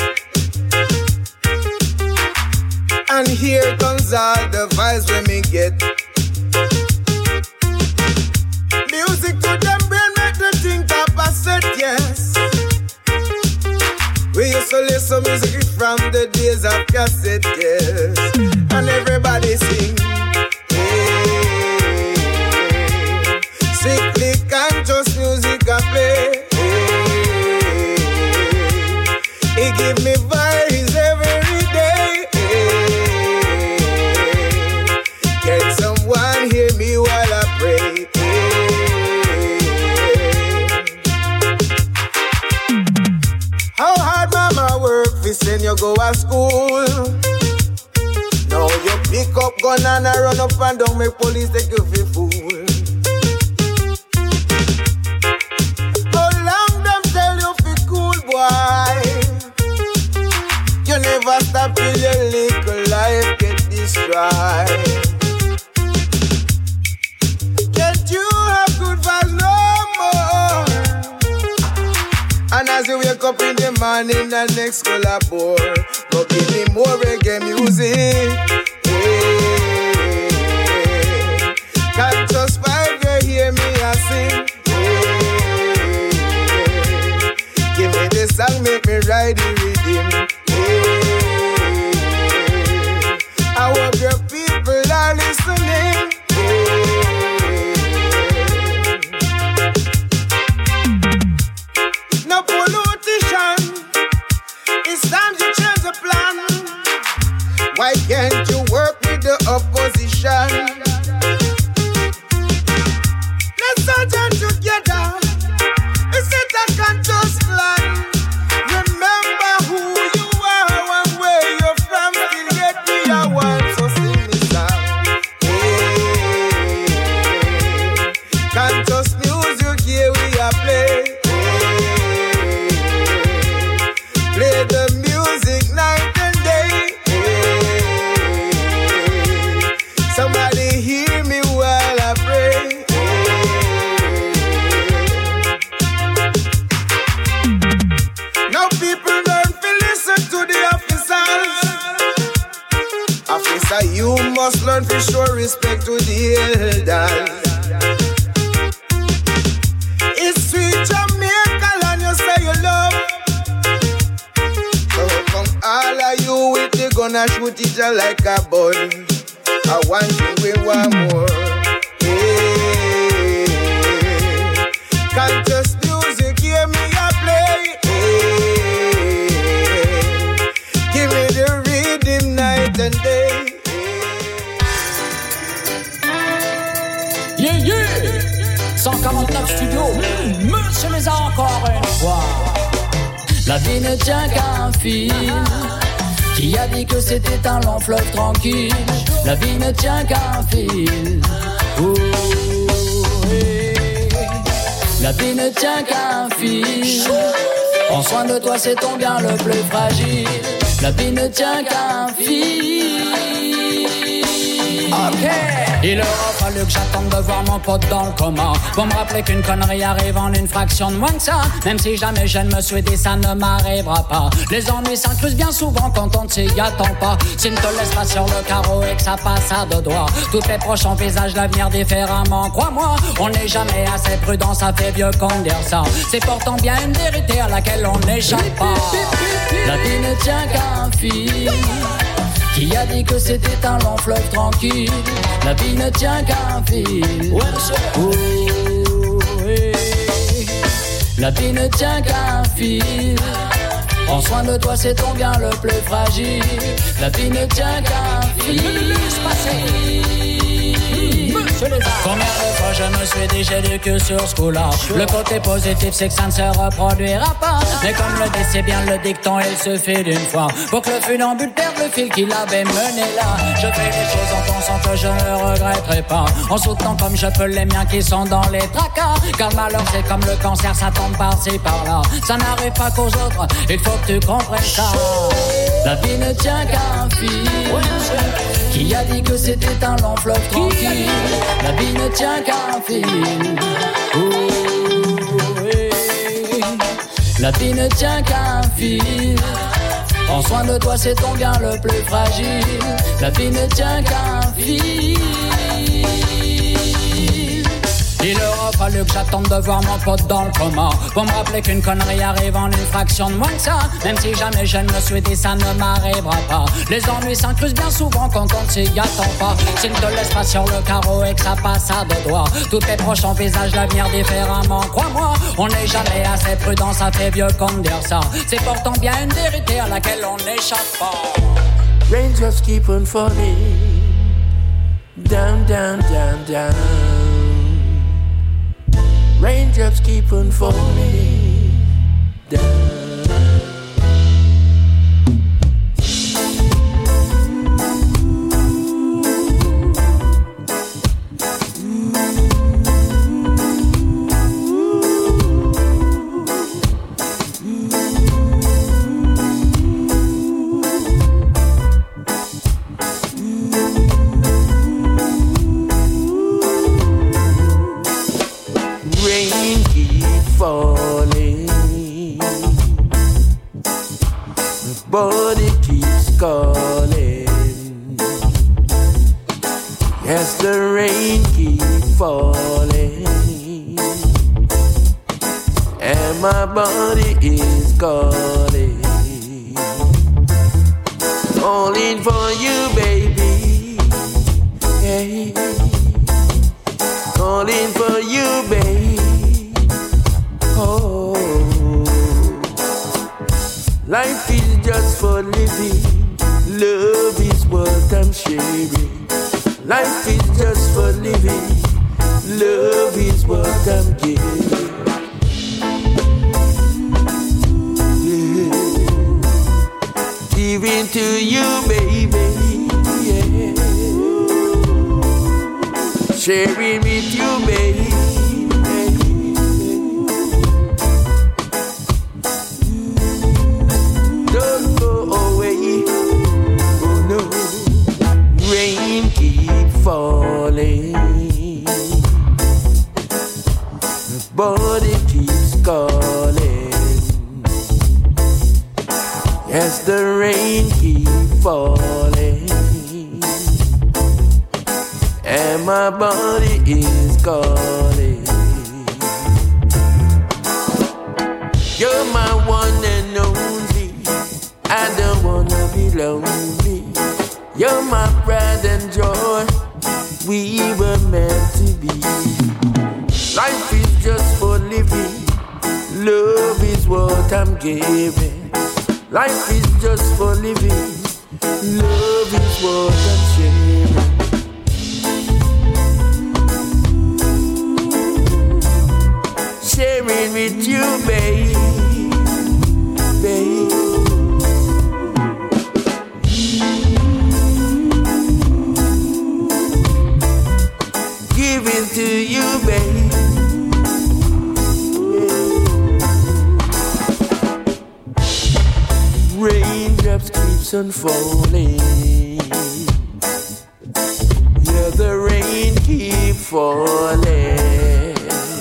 And here comes all the vibes when me get. Music to them brain. some music from the days of cassette, yes. And everybody sing. Hey. Strictly conscious music I play. Hey. It give me vibes every day. Hey. Can someone hear me while I pray? How hard mama work fi send you go to school. Now you pick up gun and I run up and down, make police take you fi fool. How long them tell you fi cool boy? You never stop till your little life get destroyed. Can't you have good vibes no more? And as you wake up in the morning, the next color board, go give me more reggae music. Hey. Can't just vibe, you hear me I sing. Hey. Give me the song, make me ride the rhythm. Hey. I hope your people are listening. No politician, it's time to change the plan. Why can't you work with the opposition? Let's all join together. It's a conscious plan. Remember who you are and where you're from. Still yet we are one, so sing this song. Hey. Conscious music here we are playing. Play the music night and day. Somebody hear me while I pray. Now people learn to listen to the officers. Officer, you must learn to show respect to the elders. It's sweet Jamaica and you say you love. All of you with the gun and shoot each other like a bud. I want you, we want more. Hey. Conscious music, hear me a play. Hey. Give me the rhythm night and day. Yeah, yeah. 149 studios, monsieur les a encore une fois. La vie ne tient qu'à un fil. Qui a dit que c'était un long fleuve tranquille? La vie ne tient qu'à un fil. Oh, hey. La vie ne tient qu'à un fil. Prends soin de toi, c'est ton bien le plus fragile. La vie ne tient qu'à un fil. Ok. Il aura fallu que j'attende de voir mon pote dans le coma pour me rappeler qu'une connerie arrive en une fraction de moins que ça. Même si jamais je ne me suis dit ça ne m'arrivera pas. Les ennuis s'incrustent bien souvent quand on ne s'y attend pas. S'ils ne te laissent pas sur le carreau et que ça passe à deux doigts, tous tes proches envisagent l'avenir différemment. Crois-moi, on n'est jamais assez prudent, ça fait vieux qu'on dire ça. C'est pourtant bien une vérité à laquelle on n'échappe pas. La vie ne tient qu'à un fil. Qui a dit que c'était un long fleuve tranquille? La vie ne tient qu'à un fil. Oh, hey. La vie ne tient qu'à un fil. Prends soin de toi, c'est ton bien le plus fragile. La vie ne tient qu'à un fil. Combien de fois je me suis dit j'ai du cul sur ce coup-là. Le côté positif c'est que ça ne se reproduira pas. Mais comme le dit c'est bien le dicton, il suffit d'une fois pour que le funambule perde le fil qu'il avait mené là. Je fais les choses en pensant que je ne regretterai pas, en soutenant comme je peux les miens qui sont dans les tracas. Car le malheur c'est comme le cancer, ça tombe par-ci par-là. Ça n'arrive pas qu'aux autres, il faut que tu comprennes ça. La vie ne tient qu'à un fil. Qui a dit que c'était un long fleuve tranquille? La vie ne tient qu'à un fil. Oh, hey. La vie ne tient qu'à un fil. Prends soin de toi, c'est ton bien le plus fragile. La vie ne tient qu'à un fil. Il aura fallu que j'attende de voir mon pote dans le coma pour me rappeler qu'une connerie arrive en une fraction de moins que ça. Même si jamais je ne me suis dit, ça ne m'arrivera pas. Les ennuis s'incrusent bien souvent quand on ne s'y attend pas. S'il ne te laisse pas sur le carreau et que ça passe à deux doigts, tous tes proches envisagent l'avenir différemment. Crois-moi, on n'est jamais assez prudent, ça fait vieux comme dire ça. C'est pourtant bien une vérité à laquelle on n'échappe pas. Rain just keep on falling, down, down, down, down. Raindrops keep on falling down. Falling, but it keeps calling. Yes, the rain keeps falling, and my body is calling, calling for you, baby. Hey, calling for you, baby. Oh, life is just for living. Love is what I'm sharing. Life is just for living. Love is what I'm giving. Yeah. Giving to you, baby. Yeah. Sharing with you, baby. Falling, but it keeps calling. Yes, the rain keeps falling, and my body is calling. You're my one and only. I don't wanna be lonely. You're my pride and joy. We were meant to be. Life is just for living. Love is what I'm giving. Life is just for living. Love is what I'm sharing. Sharing with you, babe. Babe. Giving to you, babe. Raindrops keeps on falling. Yeah, the rain keeps falling.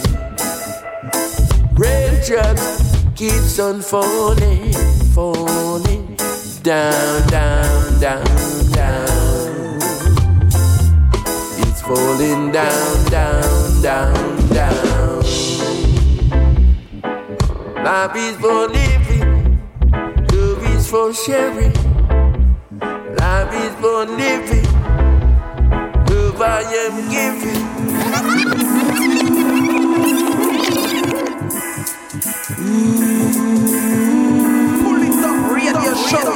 Raindrops keeps on falling, falling down, down, down, down. Falling down, down, down, down. Life is for living. Love is for sharing. Life is for living. Love I am giving. Pull it up, radio show.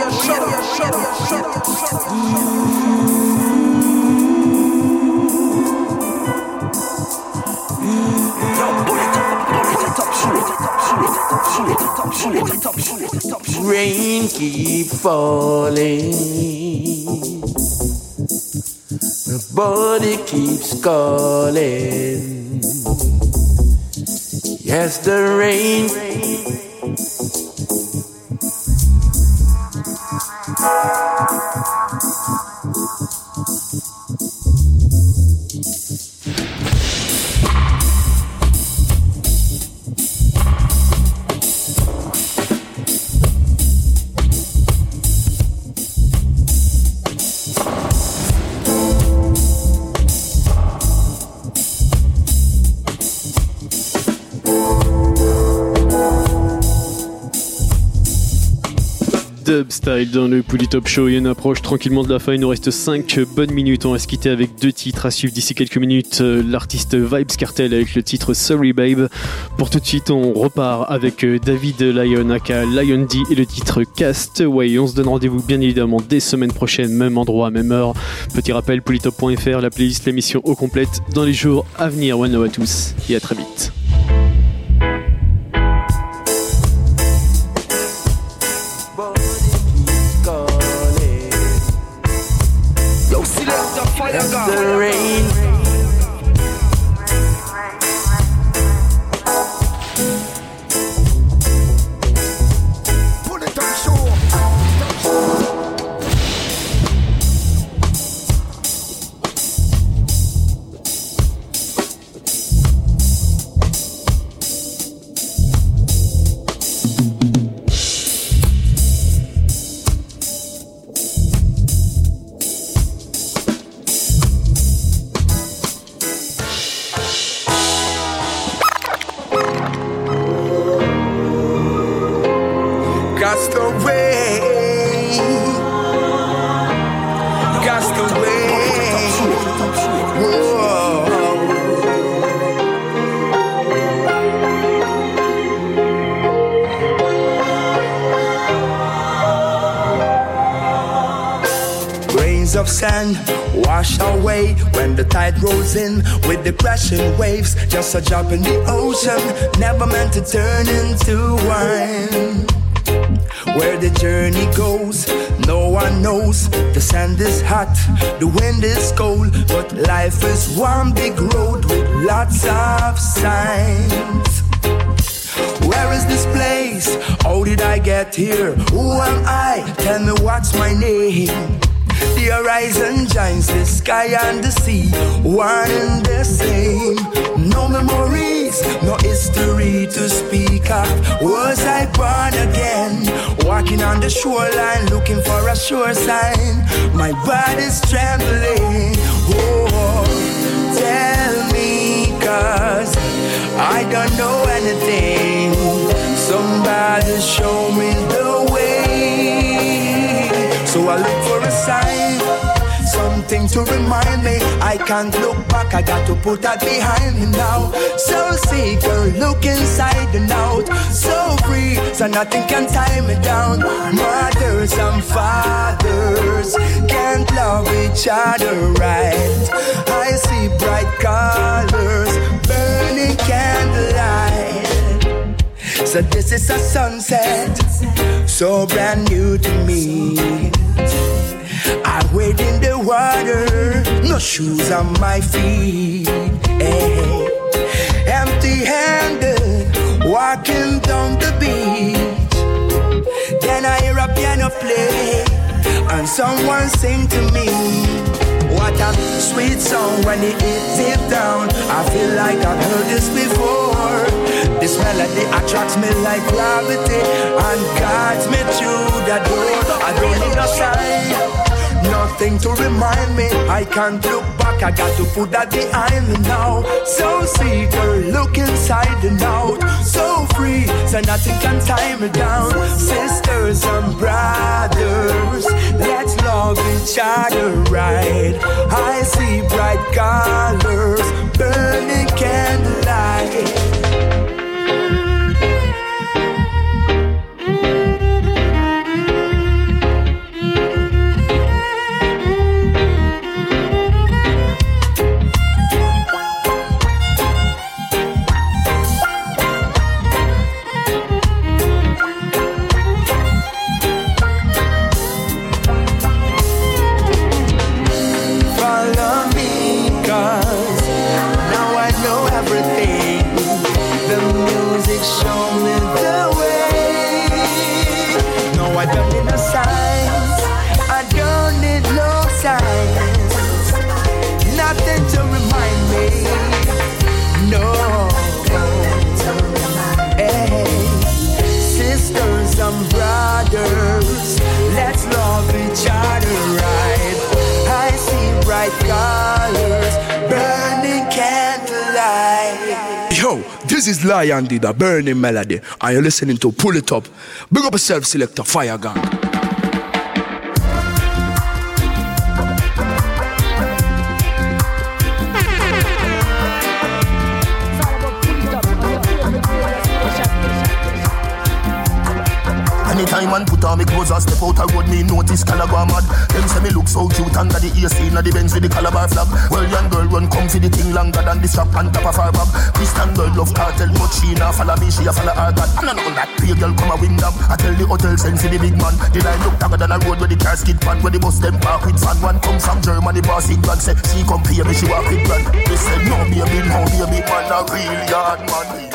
Rain keep falling, my body keeps calling. Yes, the rain. dub style dans le Pouli Top Show et on approche tranquillement de la fin. Il nous reste 5 bonnes minutes. On va se quitter avec 2 titres à suivre d'ici quelques minutes. L'artiste Vybz Kartel avec le titre Sorry Babe. Pour tout de suite, on repart avec David Lyon aka Lion D et le titre Castaway. On se donne rendez-vous bien évidemment dès semaine prochaine, même endroit, même heure. Petit rappel, polytop.fr, la playlist, l'émission au complète dans les jours à venir. One love à tous et à très vite. As the rain Pull it on shore. Of sand wash away when the tide rolls in with the crashing waves. Just a drop in the ocean, never meant to turn into wine. Where the journey goes, no one knows. The sand is hot, the wind is cold, but life is one big road with lots of signs. Where is this place? How did I get here? Who am I? Tell me what's my name. The horizon joins the sky and the sea, one and the same. No memories, no history to speak of. Was I born again? Walking on the shoreline, looking for a sure sign. My body's trembling. Oh, tell me, 'cause I don't know anything. Somebody show me the way. So I look for a sign, something to remind me I can't look back, I got to put that behind me now. So seeker, look inside and out. So free, so nothing can tie me down. Mothers and fathers can't love each other right. I see bright colors, burning candlelight. So this is a sunset, so brand new to me. I wade in the water, no shoes on my feet. Hey. Empty-handed, walking down the beach. Then I hear a piano play, and someone sing to me. What a sweet song when it hits it down. I feel like I've heard this before. This melody attracts me like gravity and guides me through the door. I don't need a sign, nothing to remind me. I can't look back, I got to put that behind me now. So seeker, look inside and out. So free, so nothing can tie me down. Sisters and brothers, let's love each other right. I see bright colors, burning candlelight. This is Lion D, the burning melody, and you're listening to Pull It Up. Big up yourself, Selector Fire Gang. Anytime man put on me clothes and step out a road, me notice Calabar mad. Them say me look so cute under the AC, na the Benz with the Calabar flag. Well, young girl run come for the thing longer than the strap on top of her bag. Christian girl love cartel, but she nah follow me, she a follow her God. And I know that pay girl come a win them. I tell the hotel send for the big man. The line look tagger than a road where the car skid pan, where the bus them park with fan. One come from Germany, boss in grand, say she come pay me, she walk with grand. They said no baby, man, a real yard man.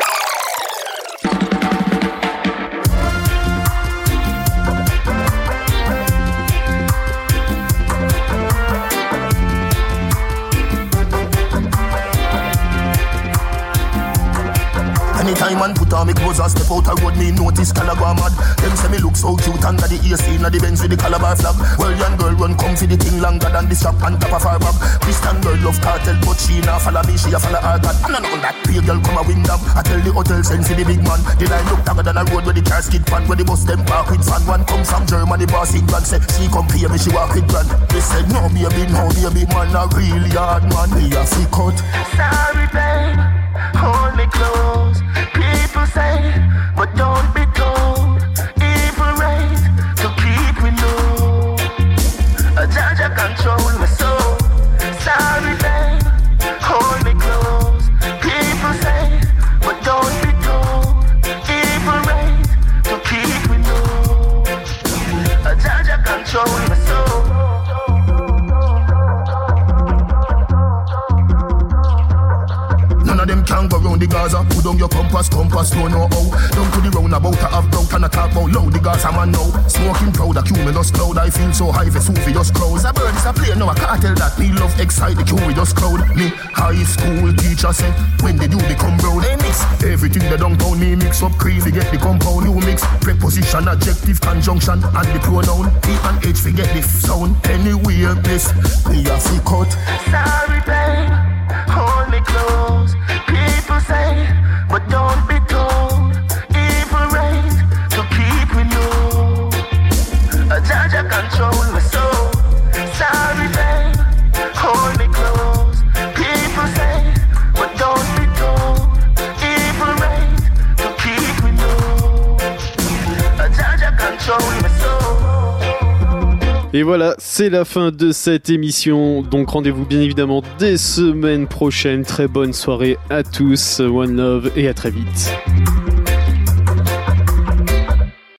Anytime man put on me clothes and step out a road, me notice Calabar mad. Them say me look so cute under the AC, na the Benz with the Calabar flag. Well, young girl run come for the thing longer than the strap on top of her bag. Christian girl love cartel, but she nah follow me, she a follow her God. And I know that pay girl come a win them. I tell the hotel send for the big man. The line look tagger than a road where the car skid pan, where the bus them park with fan. One come from Germany, boss in grand, say she come pay me, she walk with grand. They said no baby, man, a real yard man. Me a fi cut. Sorry babe, hold me close. People say, but don't be told. Evil reigns to keep me low. A judge control my soul. Sorry babe, hold me close. People say, but don't be told. Evil reigns to keep me low. A judge control my soul. Them can't go round the Gaza. Put down your compass, don't know how. Down to the roundabout, I have doubt and I talk about loud. The Gaza man now, smoking proud, a cumulus cloud. I feel so high, Vesuvius crowds. A bird is a plane, now I can't tell that. Me love excite the curious crowd. Me high school teacher said, when did you become brown? They mix everything they downtown. Me mix up crazy, get the compound. You mix preposition, adjective, conjunction, and the pronoun. E and H, forget the sound. Anywhere, place, me a fi cut. Sorry babe, hold me close. People say, but don't be told. Evil reigns to keep me low. A judge control my soul. Sorry babe, hold me close. People say, but don't be told. Evil reigns to keep me low. A judge control my soul. Et voilà, c'est la fin de cette émission. Donc rendez-vous bien évidemment des semaines prochaines. Très bonne soirée à tous. One love et à très vite.